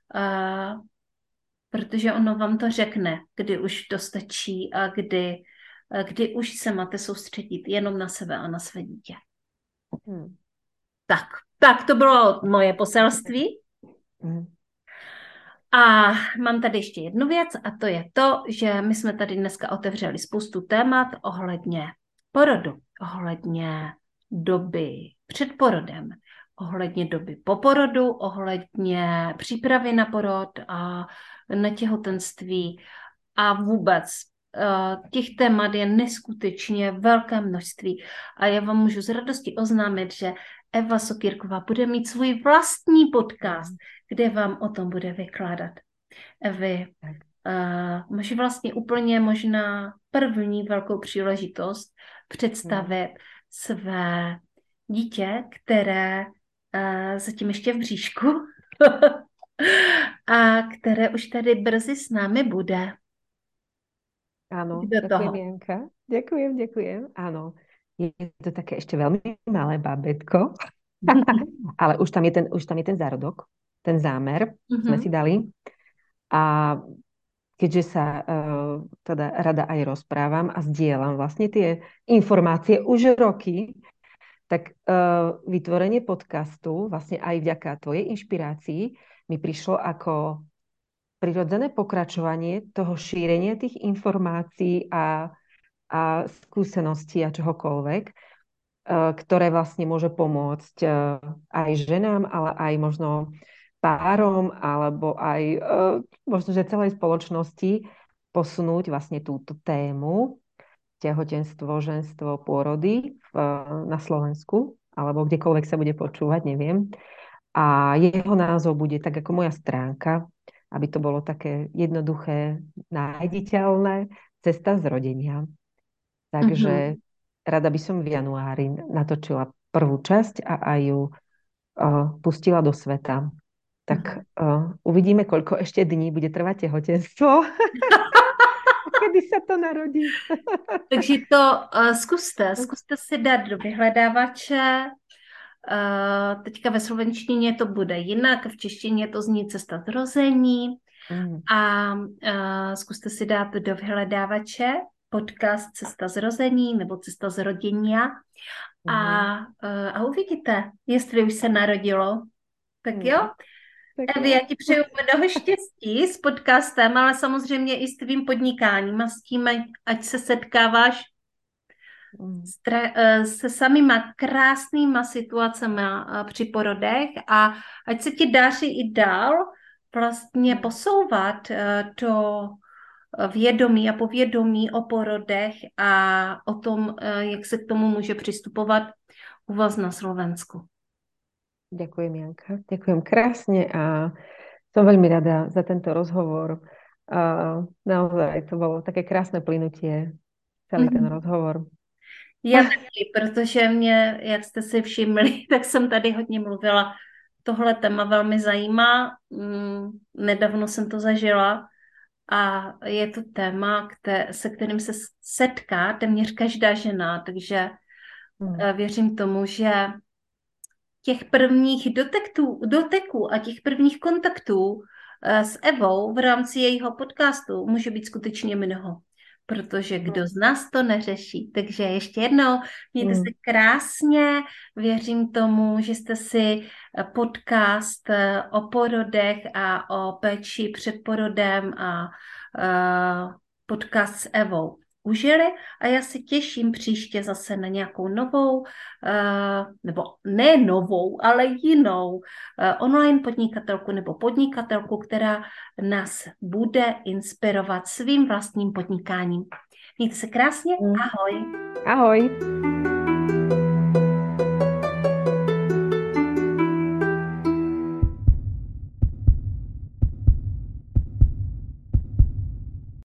protože ono vám to řekne, kdy už to stačí a kdy už se máte soustředit jenom na sebe a na své dítě. Tak to bylo moje poselství. A mám tady ještě jednu věc a to je to, že my jsme tady dneska otevřeli spoustu témat ohledně porodu, ohledně doby před porodem, ohledně doby po porodu, ohledně přípravy na porod a na těhotenství a vůbec těch témat je neskutečně velké množství a já vám můžu s radostí oznámit, že Eva Sokýrková bude mít svůj vlastní podcast, kde vám o tom bude vykládat. Evy, máš vlastně úplně možná první velkou příležitost představit své dítě, které zatím ještě v bříšku a které už tady brzy s námi bude. Áno, ďakujem, Janka. Ďakujem. Áno, je to také ešte veľmi malé bábätko, ale už tam je ten zárodok, ten zámer sme si dali. A keďže sa teda rada aj rozprávam a zdieľam vlastne tie informácie už roky, tak vytvorenie podcastu vlastne aj vďaka tvojej inšpirácii mi prišlo ako prirodzené pokračovanie toho šírenia tých informácií a skúseností a čohokoľvek, ktoré vlastne môže pomôcť aj ženám, ale aj možno párom, alebo aj možno, že celej spoločnosti posunúť vlastne túto tému tehotenstvo, ženstvo, pôrody na Slovensku, alebo kdekoľvek sa bude počúvať, neviem. A jeho názov bude tak ako moja stránka, aby to bolo také jednoduché, nájditeľné, cesta zrodenia. Takže rada by som v januári natočila prvú časť a aj ju pustila do sveta. Tak uvidíme, koľko ešte dní bude trvať tehotenstvo. Kedy sa to narodí. Takže to zkuste si dát do vyhledávače. Teďka ve slovenštině to bude jinak, v češtině to zní Cesta zrození a zkuste si dát do vyhledávače podcast Cesta zrození nebo Cesta zrodění a uvidíte, jestli už se narodilo. Tak jo? Evi, já ti přeju mnoho štěstí s podcastem, ale samozřejmě i s tvým podnikáním a s tím, ať se setkáváš se samýma krásnýma situacemi při porodech a ať se ti daří i dál vlastně posouvat to vědomí a povědomí o porodech a o tom, jak se k tomu může přistupovat u vás na Slovensku. Ďakujem, Janka. Ďakujem krásne a som veľmi rada za tento rozhovor. Naozaj to bolo také krásne plynutie, celý ten rozhovor. Já taky, protože mě, jak jste si všimli, tak jsem tady hodně mluvila. Tohle téma velmi zajímá. Nedávno jsem to zažila a je to téma, se kterým se setká téměř každá žena, takže věřím tomu, že těch prvních doteků a těch prvních kontaktů s Evou v rámci jejího podcastu může být skutečně mnoho. Protože kdo z nás to neřeší. Takže ještě jednou, mějte se krásně, věřím tomu, že jste si podcast o porodech a o péči před porodem a podcast s Evou užili a já se těším příště zase na nějakou novou, nebo ne novou, ale jinou online podnikatelku nebo podnikatelku, která nás bude inspirovat svým vlastním podnikáním. Mějte se krásně, ahoj. Ahoj.